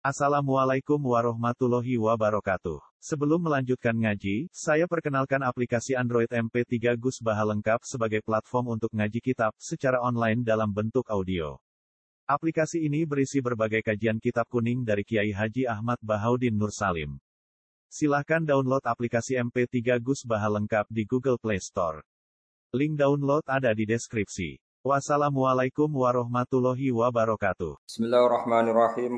Assalamualaikum warahmatullahi wabarakatuh. Sebelum melanjutkan ngaji, saya perkenalkan aplikasi Android MP3 Gus Baha lengkap sebagai platform untuk ngaji kitab secara online dalam bentuk audio. Aplikasi ini berisi berbagai kajian kitab kuning dari Kiai Haji Ahmad Bahaudin Nur Salim. Silahkan download aplikasi MP3 Gus Baha lengkap di Google Play Store. Link download ada di deskripsi. Wassalamualaikum warahmatullahi wabarakatuh. Bismillahirrahmanirrahim.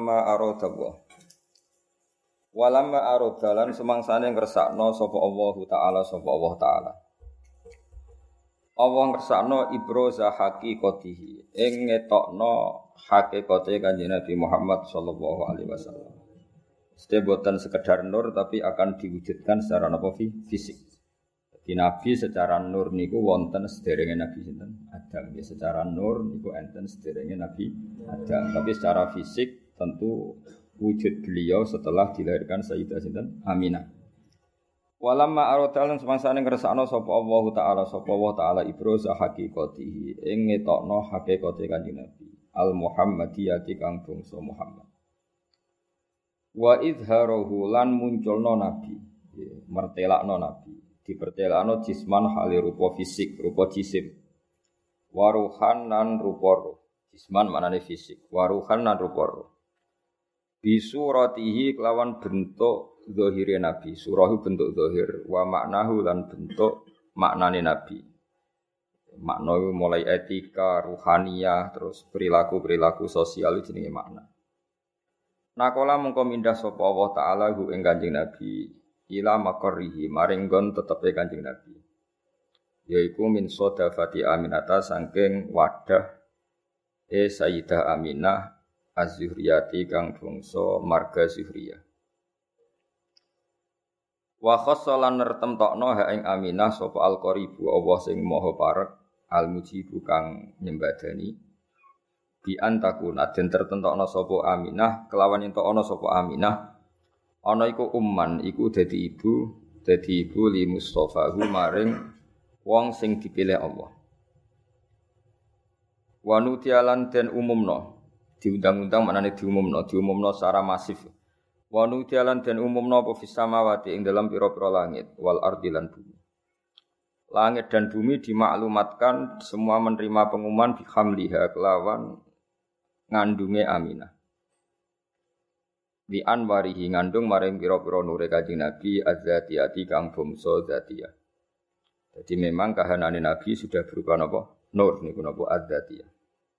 Walamma arodalan semangsane ngersakno sapa Allah Ta'ala. Allah ngersakno ibroza haqiqatihi ing ngetokno hakikate Kanjeng Nabi Muhammad sallallahu alaihi wasallam. Mesti boten sekedar nur tapi akan diwujudkan secara fisik. Di Nabi secara nur niku wonten sederenge Nabi sinten Adam. Ya, secara nur niku enten sederenge Nabi Adam. Tapi secara fisik tentu wujud beliau setelah dilahirkan Sayyidah sinten Aminah. Walamma aradalun semangsane ngersakno sapa Allah Ta'ala ibroza haqiqatihi ing ngetokno hakikate Kanjeng Nabi al Muhammadiyati kang bangsa Muhammad. Wa idharahu lan munculno Nabi, mertelakno Nabi. Dipertelakno jisman hale rupa fisik, rupa jisim. Waruhan lan rupa roh. Jisman maknane fisik, waruhan lan rupa roh. Bisuratihi kelawan bentuk zahire Nabi. Surahu bentuk zahir, wa maknahu lan bentuk maknane Nabi. Makna mulai etika, ruhaniyah, terus perilaku-perilaku sosial jenenge makna. Nakola mengko mindah sapa Allah Ta'ala hu ing Kanjeng Nabi ila maqarrihi maring nggon tetepe Kanjeng Nabi. Yaiku min sodafati Aminata saking wadah Sayyidah Aminah Az-Zuhriyati kang bangsa marga Zuhriyah. Wa khassalan nertemtokno ha ing Aminah sapa al-qaribu Allah sing maha parek al-mujibu kang nyembadani bi antakuna den tertentokno sapa Aminah kelawan entokno sapa Aminah ana iku umman iku dadi ibu li Mustafahu maring wong sing dipilih Allah. Wa nutialan den umumno diundang-undang maknane diumumno secara masif. Wa nutialan den umumno apa fis samawati ing dalam pira-pira langit wal ardi lan bumi. Langit dan bumi dimaklumatkan semua menerima pengumuman bihamliha kelawan ngandunge Aminah. Di anwarihi ngandung maring pira-pira nure Kanjeng Nabi az-zatiyati kang bangsa zatiyah. Jadi memang kahanane Nabi sudah berupa napa? Nur niku napa az-zatiyah.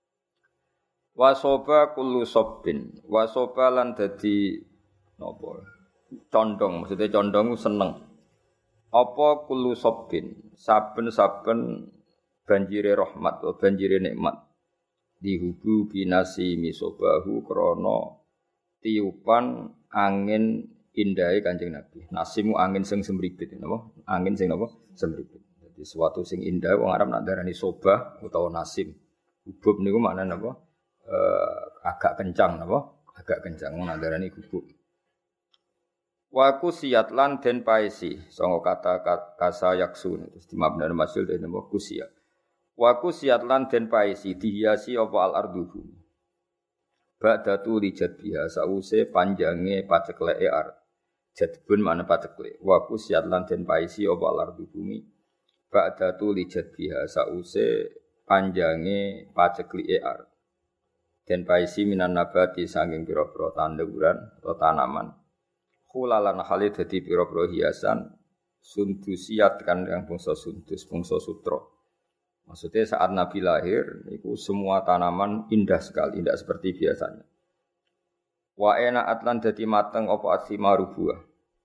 Wasoba kullu sabbin. Wasoba lan dadi napa? Condong, maksudnya condong seneng. Apa kullu sabbin? Saben-saben banjire rahmat atau banjire nikmat. Dihubu binasi misobahu krana tiupan angin indahe Kanjeng Nabi. Nasimu angin sing semripit napa? Angin sing napa? Semripit. Jadi suatu sing indah wong Arab nak darani sobah utawa nasim. Hubub niku maknane napa? Agak kencang napa? Agak kencang wong nak darani hubub. Wa kusiyat lan den paesi sanga kata kasa yaksun terus dimabna masil den napa kusiyat. Wa kusiyat lan den paesi dihiasi apa al-ardu bumi. Ba'datu lijat biha sause panjange pacekleke ar. Jadbun mana paceklek. Wa kusyat lan den paisi apa lardu bumi. Ba'datu lijat biha sause panjange pacekleke ar. Den paisi minan nabati saking pira-pira tanduran atau tanaman. Khulalan hale dadi pira-pira hiasan sundusiat kan yang bangsa sundus, bangsa sutra. Maksudnya saat Nabi lahir, itu semua tanaman indah sekali, tidak seperti biasanya. Wa ena atlan dadi mateng apa asimaru buah.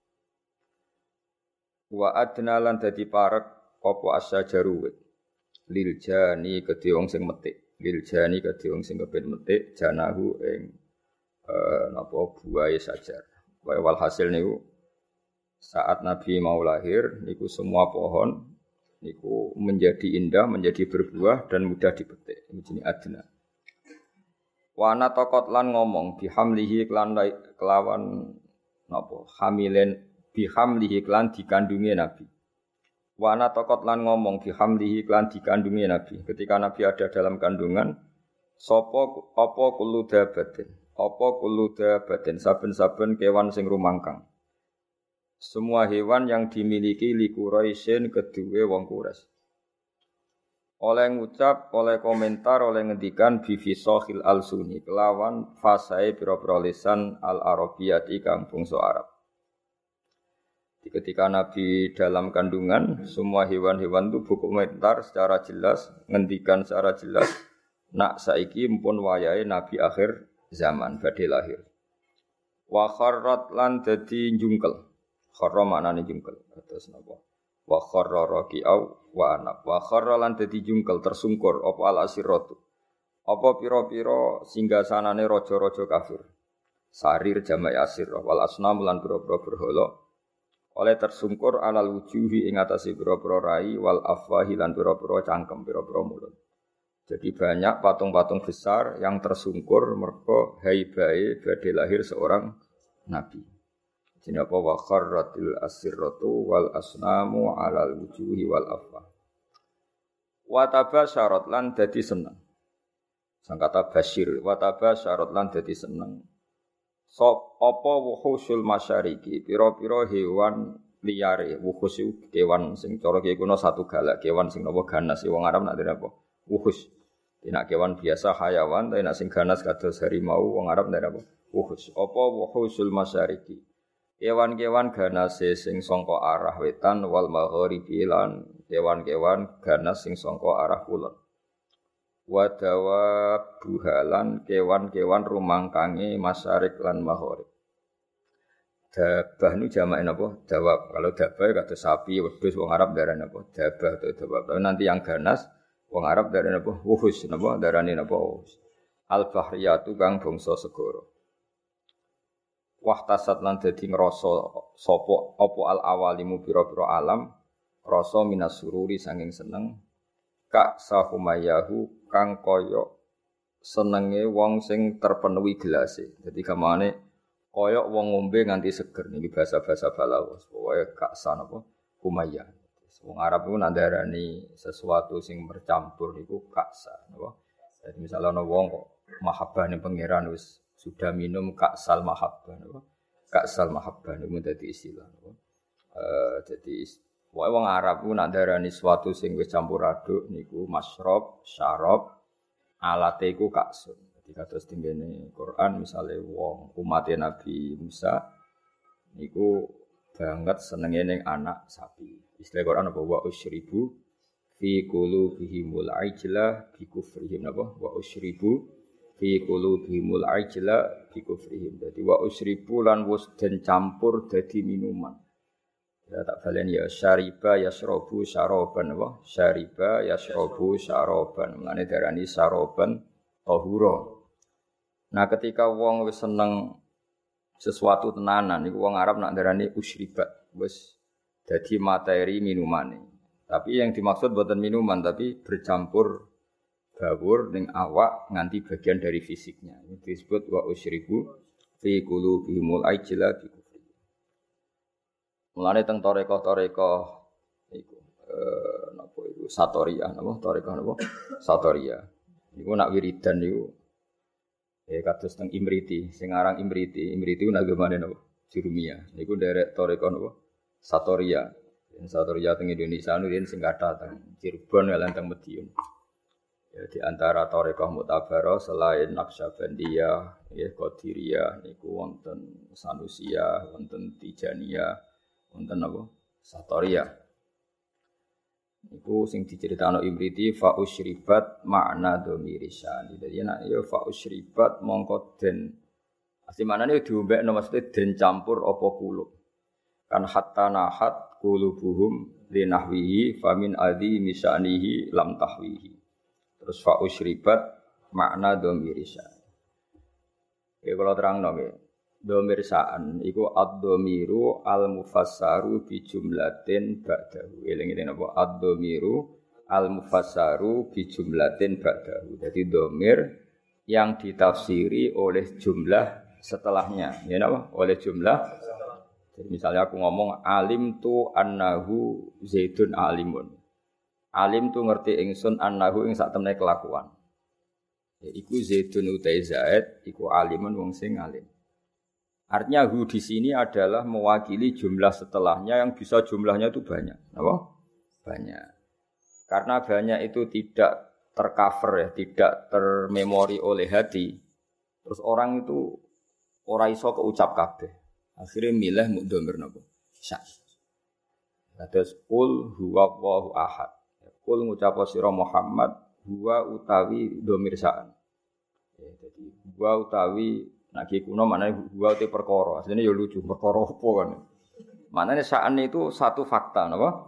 Wa adna lan dadi parek apa asyajaru wit. Lil jani kedhe wong sing metik. Lil jani kedhe wong sing kepen metik janahu ing napa buahe sajar. Walhasil niku saat Nabi mau lahir niku semua pohon niku menjadi indah, menjadi berbuah dan mudah dipetik. Ini jenis adna. Wana tokot lan ngomong bihamlihi kelawan napa? Hamilen bihamlihi klan dikandungi Nabi. Wana tokot lan ngomong bihamlihi klan dikandungi Nabi. Ketika Nabi ada dalam kandungan, sapa apa kullu dabatin. apa kullu dabatin saben-saben kewan sing rumangkang. Semua hewan yang dimiliki li Quraisyin kedue wong Quraisy. Oleh ngucap, oleh komentar, oleh ngendikan bifisohil al-suni kelawan fasae pira-pira lisan al-arabiyati kang bangsa Arab. Ketika Nabi dalam kandungan, semua hewan-hewan itu berkomentar secara jelas, ngendikan secara jelas, nak saiki mpun wayahe Nabi akhir zaman badhe lahir. Wa kharrat lan dadi njungkel. Kharra maknane njungkel. Terus napa? Wa kharra raqi'au wa anab. Wa kharra lan dadi njungkel tersungkur apa al-asiratu. Apa pira-pira singgasanane raja-raja kafir. Sarir jamak asir wal asnam lan pira-pira berhala. Oleh tersungkur alal wujuhi ing atase pira-pira rai wal afwahi lan pira-pira cangkem pira-pira mulut. Jadi banyak patung-patung besar yang tersungkur mergo haibae badhe lahir seorang nabi. Jenenge apa wa kharratil asirratu wal asnamu alal wujuhi wal afwah. Wa tabasyarat lan dadi seneng. Sang kata basyir wa tabasyarat lan dadi seneng. Sop apa wuhusul masyariki pira-pira hewan liyare wuhus iku kewan sing cara kiye kuno satu galak kewan sing napa ganas wong Arab nak dene apa wuhus nek kewan biasa hayawan tapi nek sing ganas kados harimau wong Arab dene apa wuhus apa wuhusul masyariki kewan-kewan ganase sing saka arah wetan wal maghribi lan kewan-kewan ganas sing saka arah kulon. Wadawa buhalan kewan-kewan rumangkange masyarik lan maghrib. Dabah nu jamake napa? Dawab. Kalau dabah kata sapi, wedhus wong Arab darane apa? Dabah atau dawab. Tapi nanti yang ganas wong Arab darane apa? Wuhus napa? Darane napa? Wuhus. Al-bahriyatu kang bangsa segara. Wahtasat lan dadi ngrasa sapa apa al-awalimu pira-pira alam rasa minas sururi sanging seneng Kak sahumayahu kang kaya senenge wong sing terpenuhi gelase. Jadi gamane kaya wong ngombe nganti seger niki bahasa-bahasa balaghah. Pokoke kak san apa humayah. Wong Arab iku nandarani sesuatu sing bercampur niku kaksa napa. Jadi misalnya ana wong kok mahabbah ning pangeran wis sudah minum kaksal mahabbah napa. Kaksal mahabbah niku dadi istilah napa. Jadi wong Arab ku nak darani sesuatu sing wis campur aduk niku masyrab, syarab, alate iku kaksun. Dadi kados tengene Quran misale wong umat Nabi Musa niku banget senenge ning anak sapi. Istilah Quran apa wa usyribu fi qulubihimul ajla bi kufrihim napa wa usyribu fi qulubihimul ajla bi kufrihim. Dadi wa usyribu lan wis den campur dadi minuman. Ya tak balen ya syariba yasrobu syaroban apa syariba yasrobu syaroban mane darani syaroban tahura. Nah ketika wong wis seneng sesuatu tenanan niku wong Arab nak darani usyribat wis dadi materi minumane. Tapi yang dimaksud bukan minuman tapi bercampur bawur ning awak nganti bagian dari fisiknya. Ini disebut wa usyribu fi qulubihimul ajla bi mulane teng toreko-toreko iku napa iku Satoriyah napa toreko napa Satoriyah niku nak wiridan niku kados teng Imriti sing aran Imriti ku nagamane napa Jurumiyah niku derek toreko napa Satoriyah Satoriyah teng Indonesia niku sing kathah teng Cirebon lan teng Madiun ya di antara toreko mutabarah selain Naqsyabandiyah ya Qadiriyah niku wonten Sanusiyah wonten Tijaniyah wonten apa? Satoriyah. Iku sing diceritakno Imriti fa usyribat makna dhamirisan. Dadi nek ya fa usyribat mongko den asli maknane diombekno maksude den campur apa kulub. Kan hatta nahat qulubuhum linahwihi famin adi misanihi lam tahwihi. Terus fa usyribat makna dhamirisan. Ya kula terangno nggih. Dhamir sa'an iku ad-dhamiru al-mufassaru bi jumlatin ba'dahu. Eling-eling apa ad-dhamiru al-mufassaru bi jumlatin ba'dahu. Jadi dhamir yang ditafsiri oleh jumlah setelahnya. Ya napa? Oleh jumlah. Jadi misalnya aku ngomong alim tu annahu Zaidun alimun. Alim tu ngerti ingsun annahu ing sak temene kelakuan. Iku Zaidun utai Zaid, iku alimun wong sing alim. Artinya hu di sini adalah mewakili jumlah setelahnya yang bisa jumlahnya itu banyak. Apa? Banyak. Karena banyak itu tidak tercover ya, tidak termemori oleh hati. Terus orang itu ora iso keucap kabeh. Akhirnya milih mudhamir napa? Sya. Terus qul huwallahu ahad. Qul ngucap sira Muhammad huwa utawi dhamir sa'an. Ya, jadi huwa utawi nek kuno maknane huwa te perkara. Asline ya lucu, perkara apa kan. Maknane sa'an itu satu fakta napa?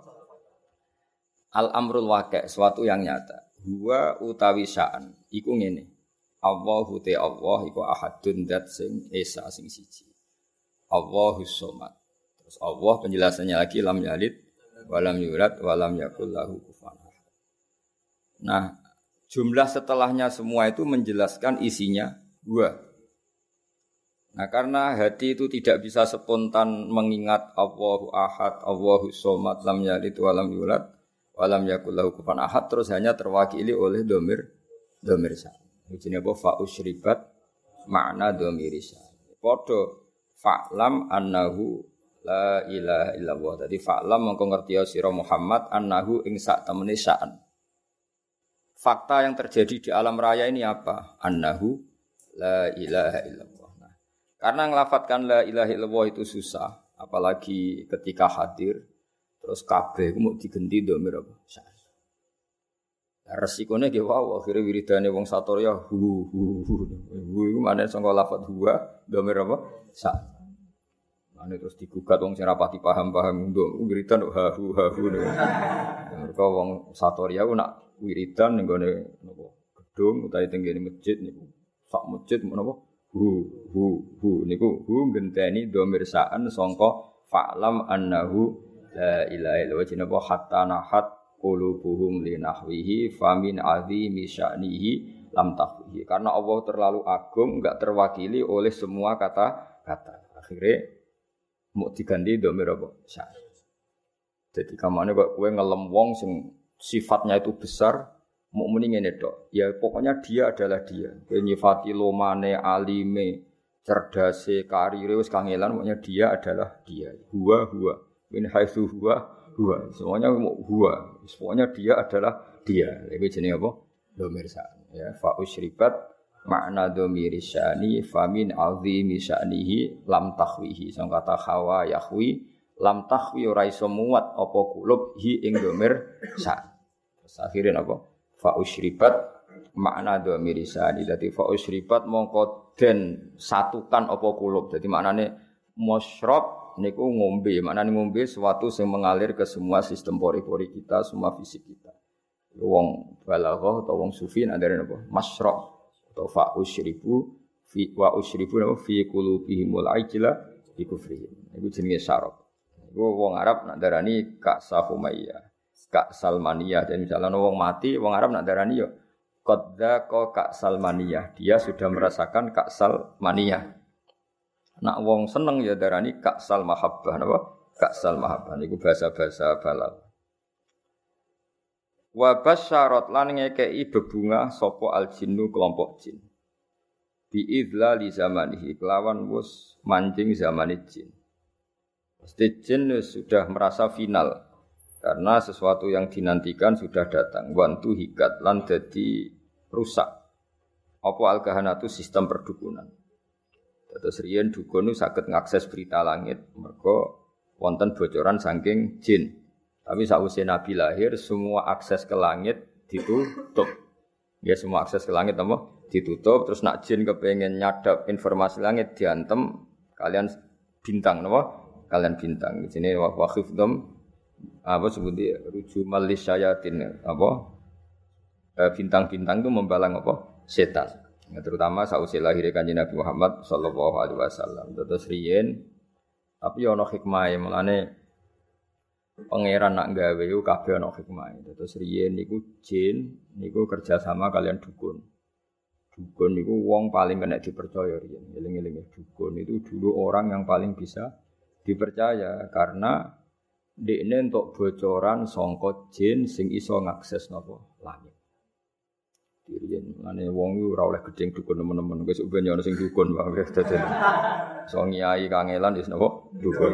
Al-amrul waqi', suatu yang nyata. Huwa utawi sa'an iku ngene. Allahu te Allah iku ahadun dat sing esa sing siji. Allahus somad. Terus Allah penjelasannya lagi lam yalid walam yulad walam yakul lahu kufuwan ahad. Nah, jumlah setelahnya semua itu menjelaskan isinya huwa. Nah, karena hati itu tidak bisa spontan mengingat Allahu ahad, Allahus somad, lam yalid walam yulad walam yakul lahu kufuwan ahad, terus hanya terwakili oleh dhamir sa. Jenenge apa fa usyribat makna dhamir sa. Padha fa'lam annahu la ilaha illallah. Jadi fa'lam mongko ngerti sira Muhammad annahu ing sak temene sa'an. Fakta yang terjadi di alam raya ini apa? Annahu la ilaha illallah. Nah, karena ngelafatkan la ilaha illallah itu susah, apalagi ketika hadir terus kabeh ku mau digenti dhamir apa? Sa'an. Resikone ge wae akhire wiridane wong satorya hu iku maneh saka lafaz huwa dhamir apa? Sa'an. Ane terus digugat wong sing rapati paham-paham nduk wiridan hahu. Mergo wong Satoria ku nak wiridan ning gone napa gedung utawa tenggene masjid niku sak masjid menapa hu niku hu ngenteni dhamir sa'an sangka fa'lam annahu la ilaha illallah jenenge hatta nahat qulubuhum linahwihi famin azimi sya'nihi lam tahwihi. Karena Allah terlalu agung enggak terwakili oleh semua kata-kata. Akhirnya mau diganti dhamir apa? Sya. Jadi kamane kok kowe ngelem wong sing sifatnya itu besar, mau muni ngene tok. Ya pokoknya dia adalah dia. Kowe nyifati lomane, alime, cerdase, karire wis kangelan, pokoknya dia adalah dia. Huwa. Min haitsu huwa. Semuanya mau huwa. Pokoknya dia adalah dia. Iki jenenge apa? Dhamir sa. Ya fa usyribat makna dhamiri sya'ni famin azimi sya'nihi lam tahwihi. Sang kata khawa yahwi lam tahwi ora iso muat apa kulub hi ing dhamir sa. Terus akhirnya apa? Fa usyribat makna dhamiri sya'ni. Dadi fa usyribat mongko den satukan apa kulub. Dadi maknane musyrab niku ngombe. Maknane ngombe sesuatu sing mengalir ke semua sistem pori-pori kita, semua fisik kita. Wong balaghah atau wong sufi ndare napa? Masyrab. Fa usyribu fi wa usyribu fi qulubihimul ajla bi kufrihim. Iku jenenge syarab. Iku wong Arab nak darani Ka'sa Humayyah, Ka'sal Maniyah. Dan misalnya wong mati, wong Arab nak darani yo qadza Ka'sal Maniyah. Dia sudah merasakan Ka'sal Maniyah. Nak wong seneng ya darani Ka'sal Mahabbah napa? Ka'sal Mahabbah niku bahasa-bahasa balagh. Wa basyarat lan ngekeki bebungah sapa al-jinnu kelompok jin. Bi idlali zamanihi kelawan wis mancing zamane jin. Pasti jin sudah merasa final karena sesuatu yang dinantikan sudah datang. Wantu hikat lan dadi rusak. Apa al-kahanatu sistem perdukunan. Terus riyen dukun saged ngakses berita langit mergo wonten bocoran saking jin. Tapi sakwise Nabi lahir, semua akses ke langit ditutup. Ya semua akses ke langit apa? Ditutup. Terus nak jin kepengen nyadap informasi langit diantem kalian bintang, apa? Kalian bintang. Di sini waqifdom apa sebutnya rujumal lisyayatin apa? Bintang-bintang itu membalang apa? Setan. Ya, terutama sakwise lahir Kanjeng Nabi Muhammad sallallahu alaihi wasallam. Terus riyen tapi ana hikmah mulane pangeran nak gawe yo kabeh ana hikmah. Terus riyen niku jin niku kerja sama kalian dukun. Dukun niku wong paling kena dipercaya riyen. Eling-eling dukun itu dulu orang yang paling bisa dipercaya karena dekne entuk bocoran sangka jin sing iso ngakses napa langit. Diriyen ngene wong iku ora oleh gedeng dukun temen-temen. Wis ben yo ono sing dukun wae dadi. So nyai kangelan wis napa? Dukun.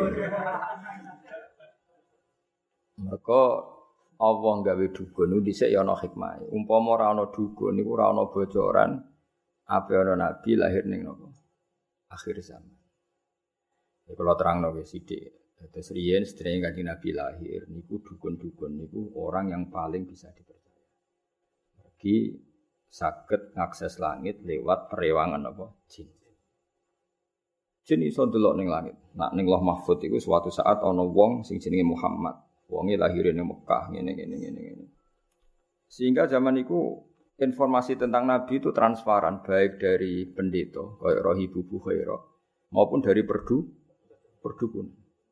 Mergo Allah gawe dukun niku dhisik ya ana hikmahe. Umpama ora ana dukun niku ora ana bocoran ape ana nabi lahir ning napa? Akhir zaman. Ya kula terangno wis sithik. Terus riyen sedherenge Kanjeng Nabi lahir niku dukun-dukun niku orang yang paling bisa dipercaya. Bagi saged ngakses langit lewat perewangan apa? Jin. Jin iso ndelok ning langit. Nak ning Lauh Mahfuz iku suatu saat ana wong sing jenenge Muhammad. Wonge lahir ning Mekah ngene. Sehingga zaman iku informasi tentang Nabi itu transparan baik dari pendeta kaya Rohibu Bukhaira maupun dari perdukun.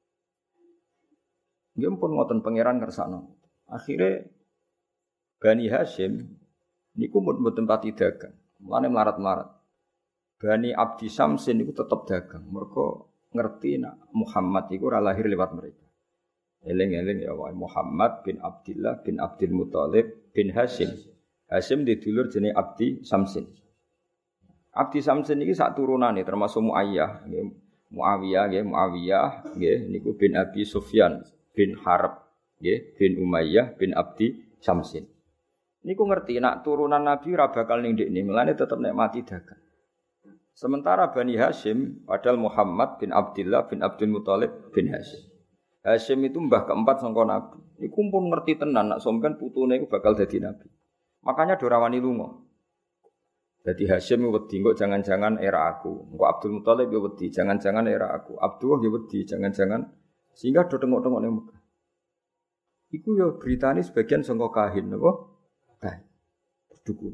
Nggih pun ngoten pangeran kersakno. Akhire Bani Hashim niku mboten pati dagang. Mulane melarat-melarat. Bani Abdi Samsin niku tetep dagang. Mergo ngerti nak Muhammad iku ora lahir lewat mereka. Eling-eling ya wae Muhammad bin Abdullah bin Abdul Muthalib bin Hashim. Hashim didulur jenenge Abdi Samsin. Abdi Samsin iki sak turunane termasuk Muayyah, nggih. Muawiyah nggih niku bin Abi Sufyan bin Harb nggih bin Umayyah bin Abdi Samsin. Niku ngerti nak turunan Nabi ora bakal ning ndekne, mulane tetep nek mati dagang. Sementara Bani Hashim padahal Muhammad bin Abdullah bin Abdul Muthalib bin Hashim. Hashim itu mbah keempat sangka Nabi. Iku pun ngerti tenan nak sampean putune iku bakal dadi nabi. Makanya dorawani lunga. Jadi Hashim wedi kok jangan-jangan era aku. Engko Abdul Muthalib yo wedi jangan-jangan era aku. Abdullah yo wedi jangan-jangan sehingga do tengok-tengok ning Mekah. Iku yo beritane sebagian sangka kahin napa? Kahin. Dukun.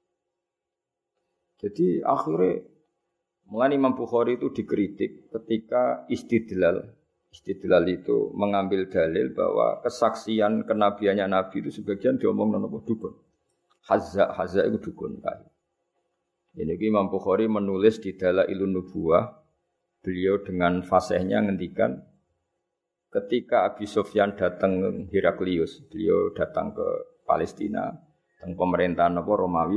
Jadi akhirnya mulai Imam Bukhari itu dikritik ketika istidlal itu mengambil dalil bahwa kesaksian kenabiannya Nabi itu sebagian diomong napa dukun. Hazza itu dukun kahin. Jadi Imam Bukhari menulis di Dalailun Nubuwah, beliau dengan fasihnya ngendikan ketika Abi Sufyan datang Heraklius, beliau datang ke Palestina, teng pemerintahan apa Romawi,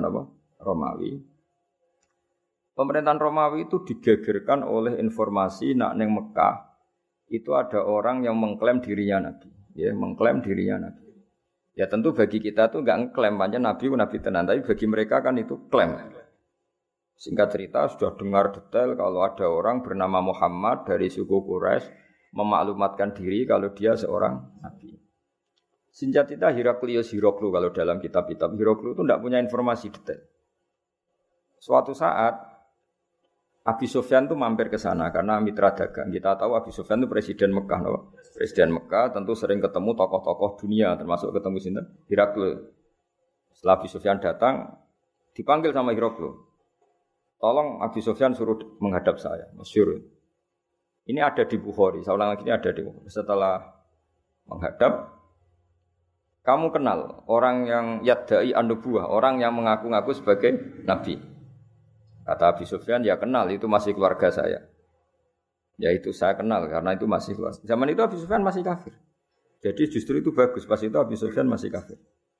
Pemerintahan Romawi itu digegerkan oleh informasi nak neng Mekah itu ada orang yang mengklaim dirinya nabi, ya mengklaim dirinya nabi. Ya tentu bagi kita tuh enggak ngeklaim pancen nabi tenan, tapi bagi mereka kan itu klaim. Singkat cerita sudah dengar detail kalau ada orang bernama Muhammad dari suku Quraisy memaklumatkan diri kalau dia seorang nabi. Sinjatita Heraklius Hiroklu kalau dalam kitab-kitab Hiroklu itu tidak punya informasi detail. Suatu saat Abi Sufyan itu mampir ke sana karena mitra dagang. Kita tahu Abi Sufyan itu presiden Mekah, no? Presiden Mekah tentu sering ketemu tokoh-tokoh dunia termasuk ketemu sinten Heraklius. Setelah Abi Sufyan datang dipanggil sama Heraklius. Tolong Abi Sufyan suruh menghadap saya, masyhur. Ini ada di Bukhari, saya ulang lagi ini ada di Bukhari. Setelah menghadap, kamu kenal orang yang yadda'i an-nubuwah, orang yang mengaku-ngaku sebagai nabi. Kata Abi Sufyan, ya kenal, itu masih keluarga saya. Ya itu saya kenal, karena itu masih keluarga. Zaman itu Abi Sufyan masih kafir. Jadi justru itu bagus, pas itu Abi Sufyan masih kafir.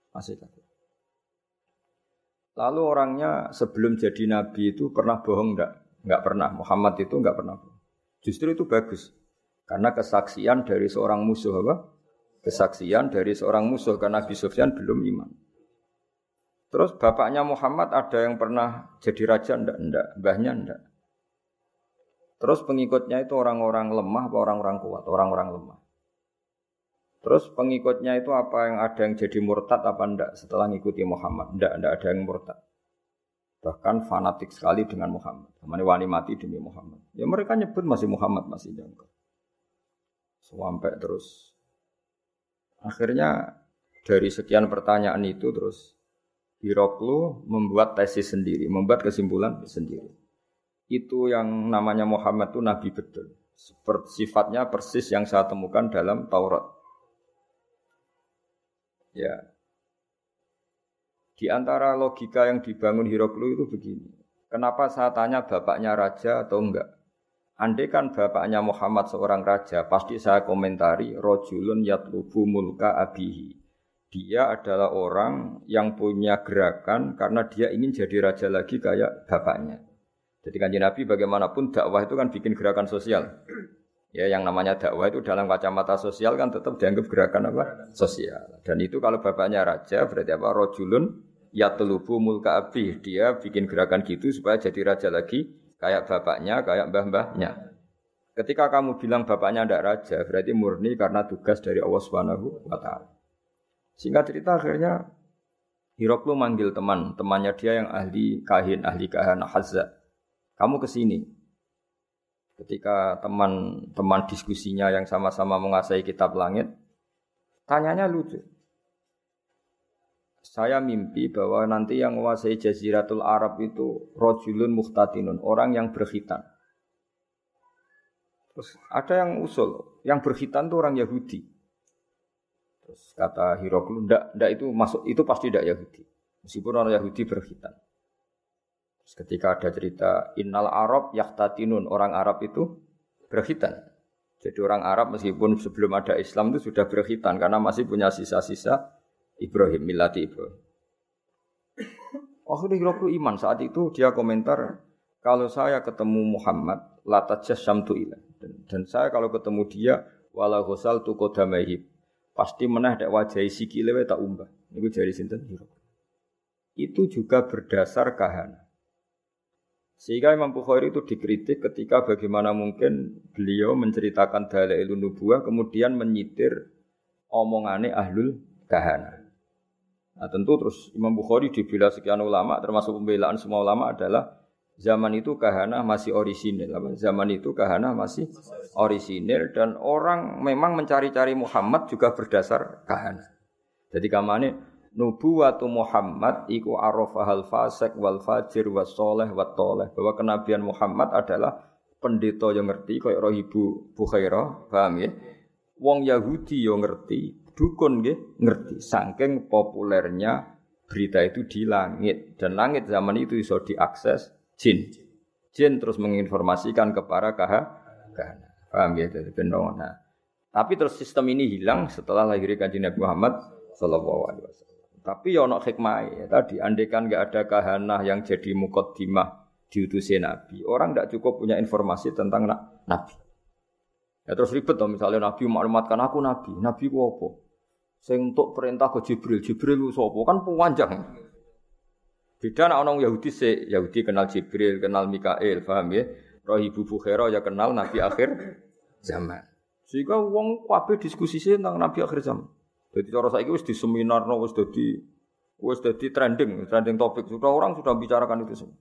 Lalu orangnya sebelum jadi nabi itu pernah bohong enggak? Enggak pernah. Muhammad itu enggak pernah bohong. Justru itu bagus. Karena kesaksian dari seorang musuh apa? Kesaksian dari seorang musuh karena Abi Sufyan belum iman. Terus bapaknya Muhammad ada yang pernah jadi raja enggak? Mbahnya enggak. Terus pengikutnya itu orang-orang lemah apa orang-orang kuat? Orang-orang lemah. Terus pengikutnya itu apa yang ada yang jadi murtad apa enggak setelah ngikuti Muhammad? Enggak ada yang murtad. Bahkan fanatik sekali dengan Muhammad. Namanya wani mati demi Muhammad. Ya mereka nyebut masih Muhammad, masih jangka. Sampai terus akhirnya dari sekian pertanyaan itu terus Hiroklu membuat tesis sendiri, membuat kesimpulan sendiri. Itu yang namanya Muhammad itu nabi betul. Sifatnya persis yang saya temukan dalam Taurat. Ya. Di antara logika yang dibangun Hiroklu itu begini. Kenapa saya tanya bapaknya raja atau enggak? Andai kan bapaknya Muhammad seorang raja, pasti saya komentari rajulun yatlubu mulka abihi. Dia adalah orang yang punya gerakan karena dia ingin jadi raja lagi kayak bapaknya. Jadi Kanjeng Nabi bagaimanapun dakwah itu kan bikin gerakan sosial. Ya, yang namanya dakwah itu dalam kacamata sosial kan tetap dianggap gerakan apa? Sosial. Dan itu kalau bapaknya raja berarti apa? Rajulun yatlubu mulka abih. Dia bikin gerakan gitu supaya jadi raja lagi kayak bapaknya, kayak mbah-mbahnya. Ketika kamu bilang bapaknya tidak raja, berarti murni karena tugas dari Allah Subhanahu wa taala. Singkat cerita akhirnya Hiroklu manggil temannya dia yang ahli kahana Hazza. Kamu kesini. Ketika teman diskusinya yang sama-sama menguasai kitab langit, tanyanya lucu. Saya mimpi bahwa nanti yang menguasai Jaziratul Arab itu rajulun muhtatinun, orang yang berkhitan. Terus ada yang usul, yang berkhitan itu orang Yahudi. Terus kata Hiroklu, ndak itu masuk, itu pasti ndak Yahudi. Meskipun orang Yahudi berkhitan. Terus ketika ada cerita innal Arab yahtatinun, orang Arab itu berkhitan. Jadi orang Arab meskipun sebelum ada Islam itu sudah berkhitan karena masih punya sisa-sisa Ibrahim, millati Ibrahim. Akhirnya Hiroklu iman. Saat itu dia komentar, kalau saya ketemu Muhammad latajasyamtu ilah. Dan saya kalau ketemu dia wala ghasaltu qadamaihi. Pasti menah dek wajahi sikile wae tak umbah. Niku jari sinten Hiroklu. Itu juga berdasar kahana. Sehingga Imam Bukhari itu dikritik ketika bagaimana mungkin beliau menceritakan dalailun nubuwah kemudian menyitir omongane ahlul kahana. Nah tentu terus Imam Bukhari dibela sekian ulama termasuk pembelaan semua ulama adalah zaman itu kahana masih orisinil. Zaman itu kahana masih orisinil dan orang memang mencari-cari Muhammad juga berdasar kahana. Jadi kamane nubuwatu Muhammad iku arafahal fasik wal fajir was soleh wat toleh, bahwa kenabian Muhammad adalah pendeta yang ngerti kaya Ibu Bukhairah, paham ya? Wong Yahudi yo ngerti, dukun nggih ngerti. Saking populernya berita itu di langit dan langit zaman itu iso diakses jin. Jin terus menginformasikan kepada kahana. Paham ya? Jadi benar. Nah, tapi terus sistem ini hilang setelah lahirnya Kanjeng Nabi Muhammad sallallahu alaihi wasallam. Tapi ya ana hikmah ya. Tadi andaikan enggak ada kahana yang jadi muqaddimah diutusi Nabi, orang enggak cukup punya informasi tentang Nabi. Ya terus ribet toh misalnya Nabi maklumatkan aku Nabi. Nabi ku apa? Sing entuk perintah ke Jibril. Jibril ku sapa? Kan panjang. Beda nek orang Yahudi Yahudi kenal Jibril, kenal Mikail, paham ya? Roh Ibu Bukhairah ya kenal Nabi akhir zaman. Sehingga wong kabeh diskusi tentang Nabi akhir zaman. Jadi cara saiki wis di seminarno wis dadi trending topik. Sudah orang sudah bicarakan itu semua.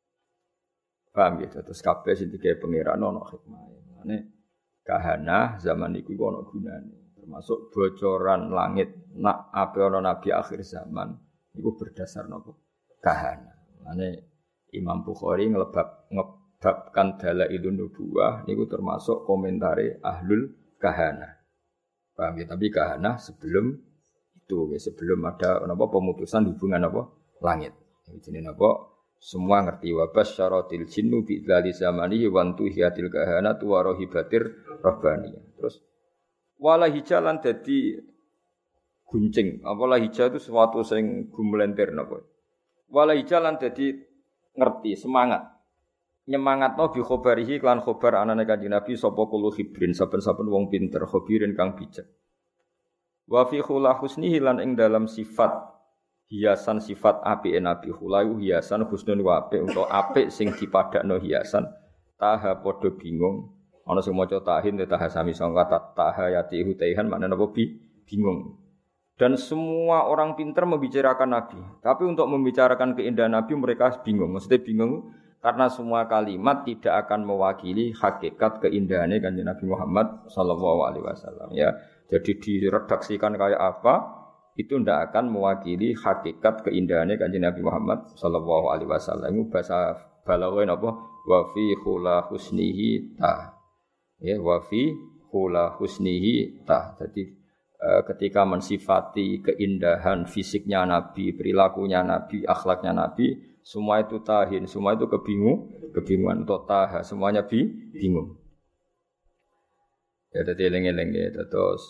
Paham ya? Terus kabeh sing digawe pangeran ana hikmah. Mane kahana zaman iku ana gunane. Termasuk bocoran langit nak ape ana nabi akhir zaman iku berdasar napa? Kahana. Mane Imam Bukhari ngebabkan dalailun nubuwah niku termasuk komentare ahlul kahana. Paham ya? Tapi kahana sebelum itu, ya, sebelum ada napa pemutusan hubungan apa langit. Jenenge napa? Semua ngerti wa basyaratil jinnu bi dzali zamanihi wa antuhiyatil kahana wa rahibatir rabbaniyah. Terus wala hijalan dadi guncing. Apa hija itu sesuatu sing gumlenter napa? Wala hijalan dadi ngerti, semangat. Nyemangatno bi khabarihi lan khabar anane Kanjeng Nabi sapa kulo hibrin saben-saben wong pinter khabirin kang bijak. Wa fi khula husnihi lan ing dalam sifat hiasan sifat apike Nabi khulayu hiasan husnun wa apik utawa apik sing dipadakno hiasan taha padha bingung ana sing maca tahin taha sami sangka taha yati hutaihan maknane apa bingung. Dan semua orang pintar membicarakan Nabi. Tapi untuk membicarakan keindahan Nabi mereka bingung. Maksudnya bingung karena semua kalimat tidak akan mewakili hakikat keindahannya Kanjeng Nabi Muhammad sallallahu alaihi wasallam ya. Jadi diredaksikan kayak apa itu tidak akan mewakili hakikat keindahannya Kanjeng Nabi Muhammad sallallahu alaihi wasallam. Itu bahasa balaghah napa? Wa fi khula husnihi ta. Ya, wa fi khula husnihi ta. Jadi ketika mensifati keindahan fisiknya Nabi, perilakunya Nabi, akhlaknya Nabi, semua itu tahin, semua itu kebingungan untuk taha, semuanya bingung. Ya, jadi eling-eling ya, terus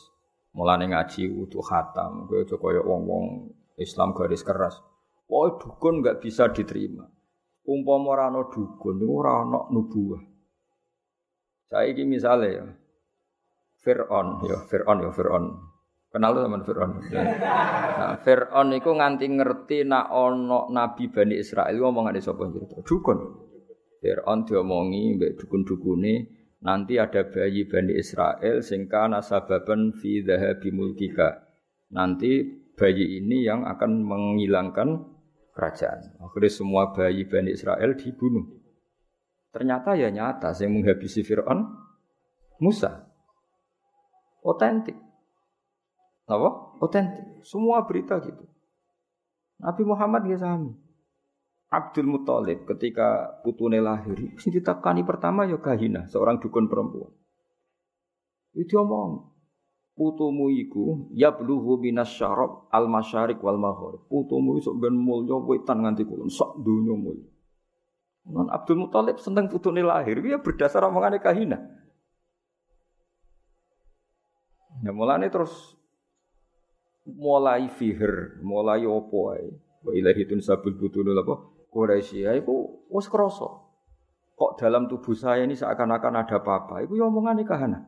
Mulane ngaji wudu khatam, kowe aja kaya wong-wong Islam garis keras. Pokoke dukun enggak bisa diterima. Umpama ora ana dukun niku ora ana nubuwah. Saiki misale ya Fir'aun. Kenal tuh teman Fir'aun. Nah, Fir'aun iku nganti ngerti nak ana nabi Bani Israil ngomongane sapa cerita. Dukun. Fir'aun diomongi mbek dukun-dukune nanti ada bayi Bani Israel sing kana sababan fi dhahabi mulkika. Nanti bayi ini yang akan menghilangkan kerajaan. Akhirnya semua bayi Bani Israel dibunuh. Ternyata ya nyata yang menghabisi Fir'aun Musa. Otentik. Apa? Otentik. Semua berita gitu. Nabi Muhammad ya sami. Abdul Muthalib ketika putune lahir, sing ditakani pertama ya Kahina, seorang dukun perempuan. Itu omong. Putumu iku yablughu minasyarab al-masyariq wal maghrib. Putumu iso ben mulya wetan nganti kulon sak donya mulya. Nan Abdul Muthalib seneng putune lahir, ya berdasar omongane Kahina. Ya mulane terus mulai fihir, mulai opo ae. Wa ilahi tunsabul butunul apa? Quraisy iku wis krasa. Kok dalam tubuh saya ini seakan-akan ada apa-apa. Iku ya omongane Kahana.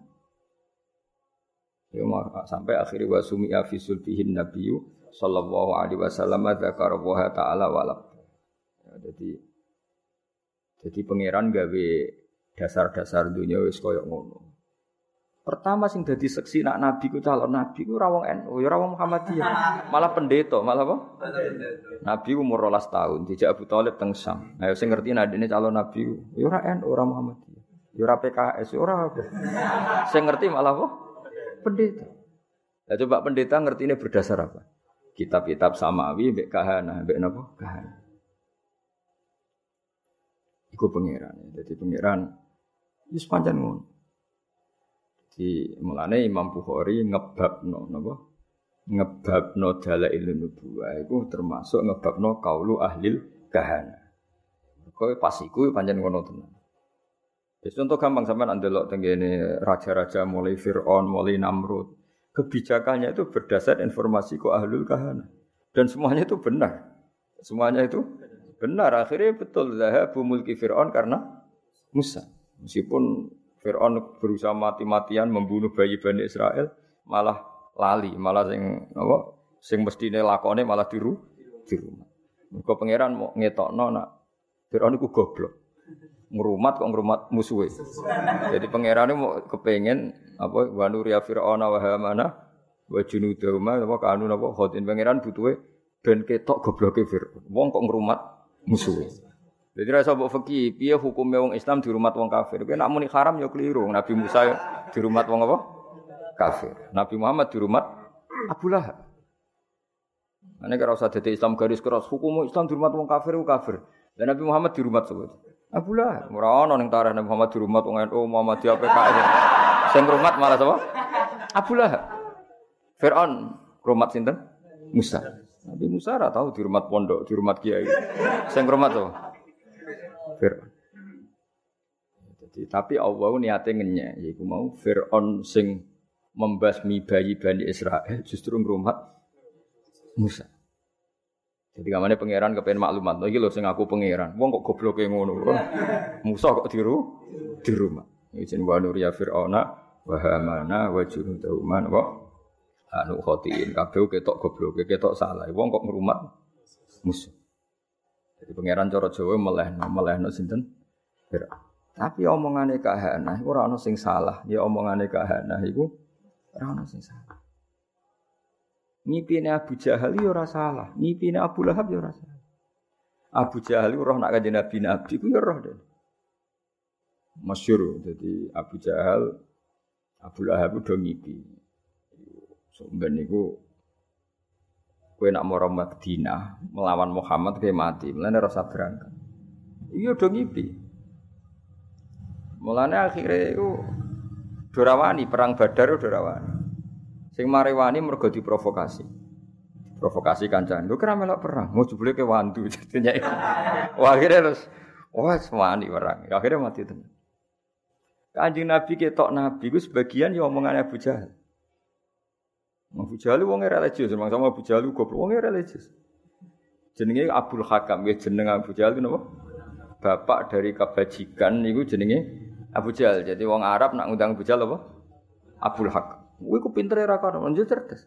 Ya sampai akhirnya wa sumi'a fi sulbihin nabiyyu sallallahu alaihi wasallam dzakara wa ta'ala walab. Ya, jadi pangeran gawe dasar-dasar dunia wis koyo ngono. Pertama sing dadi seksi nak nabi ku calon nabi ku ora wong NU, ya ora wong Muhammadiyah. Malah pendeta, malah apa? Nabi umur 12 tahun, dijak Abu Thalib teng Syam. Ayo sing ngerti nadine calon nabi ku, ya ora NU, ora Muhammadiyah. Ya ora PKS, ya ora apa. Sing ngerti malah apa? Pendeta. Lah coba pendeta ngertine berdasar apa? Kitab-kitab samawi mbek kahana, mbek napa? Kahana. Iku pangeran. Jadi pangeran wis pancen ngono. Di mulane Imam Bukhari ngebabno napa? Ngebabno dalailun nubuwah iku termasuk ngebabno qaulu ahlil kahana. Kowe pas iku pancen ngono tenan. Wis contoh gampang sampean ndelok tengene raja-raja mulai Firaun, mulai Namrud. Kebijakannya itu berdasar informasi ku ahlul kahana. Dan semuanya itu benar. Semuanya itu benar. Akhirnya betul zahabu mulki Firaun karena Musa. Meskipun Fir'aun berusaha mati-matian membunuh bayi Bani Israel, malah lali, malah sing mestine lakone malah di rumah. Mergo pangeran mau ngetokno nak Fir'aun iku goblok. Ngrumat kok ngrumat musuhe. Jadi pangerane mau kepengin apa wa nuriya Fir'auna wa Hamana wa junudahuma apa kanu napa khotin pangeran butuhe ben ketok gobloke Fir'aun. Wong kok ngrumat musuhe. Jadi rasa mbok fikih, piye hukume wong Islam dirumat wong kafir? Kowe nek muni haram ya keliru. Nabi Musa dirumat wong apa? Kafir. Nabi Muhammad dirumat Abu Lahab. Ane kira usah dadi Islam garis keras, hukum Islam dirumat wong kafir ku kafir. Dan Nabi Muhammad dirumat sapa? Abu Lahab. Ora ono ning tarikh Nabi Muhammad dirumat wong NU, Muhammadiyah PKS. Sing rumat malah sapa? Abu Lahab. Fir'aun rumat sinten? Musa. Nabi Musa ora tahu dirumat pondok, dirumat kiai. Sing rumat sapa? Fir'aun. Jadi, tapi Allah niate ngenyek, yaiku mau Fir'aun sing membasmi bayi Bani Israel justru ngrumat Musa. Jadi kamane pangeran kepen maklumat, iki lho sing aku pangeran. Wong kok gobloke ngono. Musa kok di rumah. Izin wa nuriya Fir'auna wa Hamana wa junudahuma wa anu khotiin kabeh ketok gobloke, ketok salah. Wong kok ngrumat Musa. Jadi pangeran cara Jawa melehno sinten? Fir'aun. Tapi omongane kahana iku ora ana sing salah. Ya omongane kahana iku ora ana sing salah. Ngipine Abu Jahal ya ora salah, ngipine Abu Lahab ya ora salah. Abu Jahal roh nak kanjeng Nabi ku ya roh deh. Masyhur dadi Abu Jahal Abu Lahab do ngipi. Sampeyan niku kowe nak mara Madinah melawan Muhammad kowe mati, mulane rasa berangkat. Iya do ngipi. Mulane akhire iku dorawani perang Badar dorawani. Sing marewani mergo diprovokasi. Provokasi kancane. Lho kira melok perang, mau jebule ke wandu jadinya. Wah akhire terus wani perang. Akhire mati tenan. Kanjeng Nabi ketok Nabi ku sebagian ya omongane Abu Jahal. Abu Jahal wong religius, sama Abu Jahal goblok wong religius. Jenenge Abdul Hakam, ya jeneng Abu Jahal napa? Bapak dari kebajikan niku jenenge Abu Jahal. Jadi wong Arab nak ngundang Abu Jahal apa? Abdul Hakam. Kuwi ku pintere ra kono, njuk cerdas.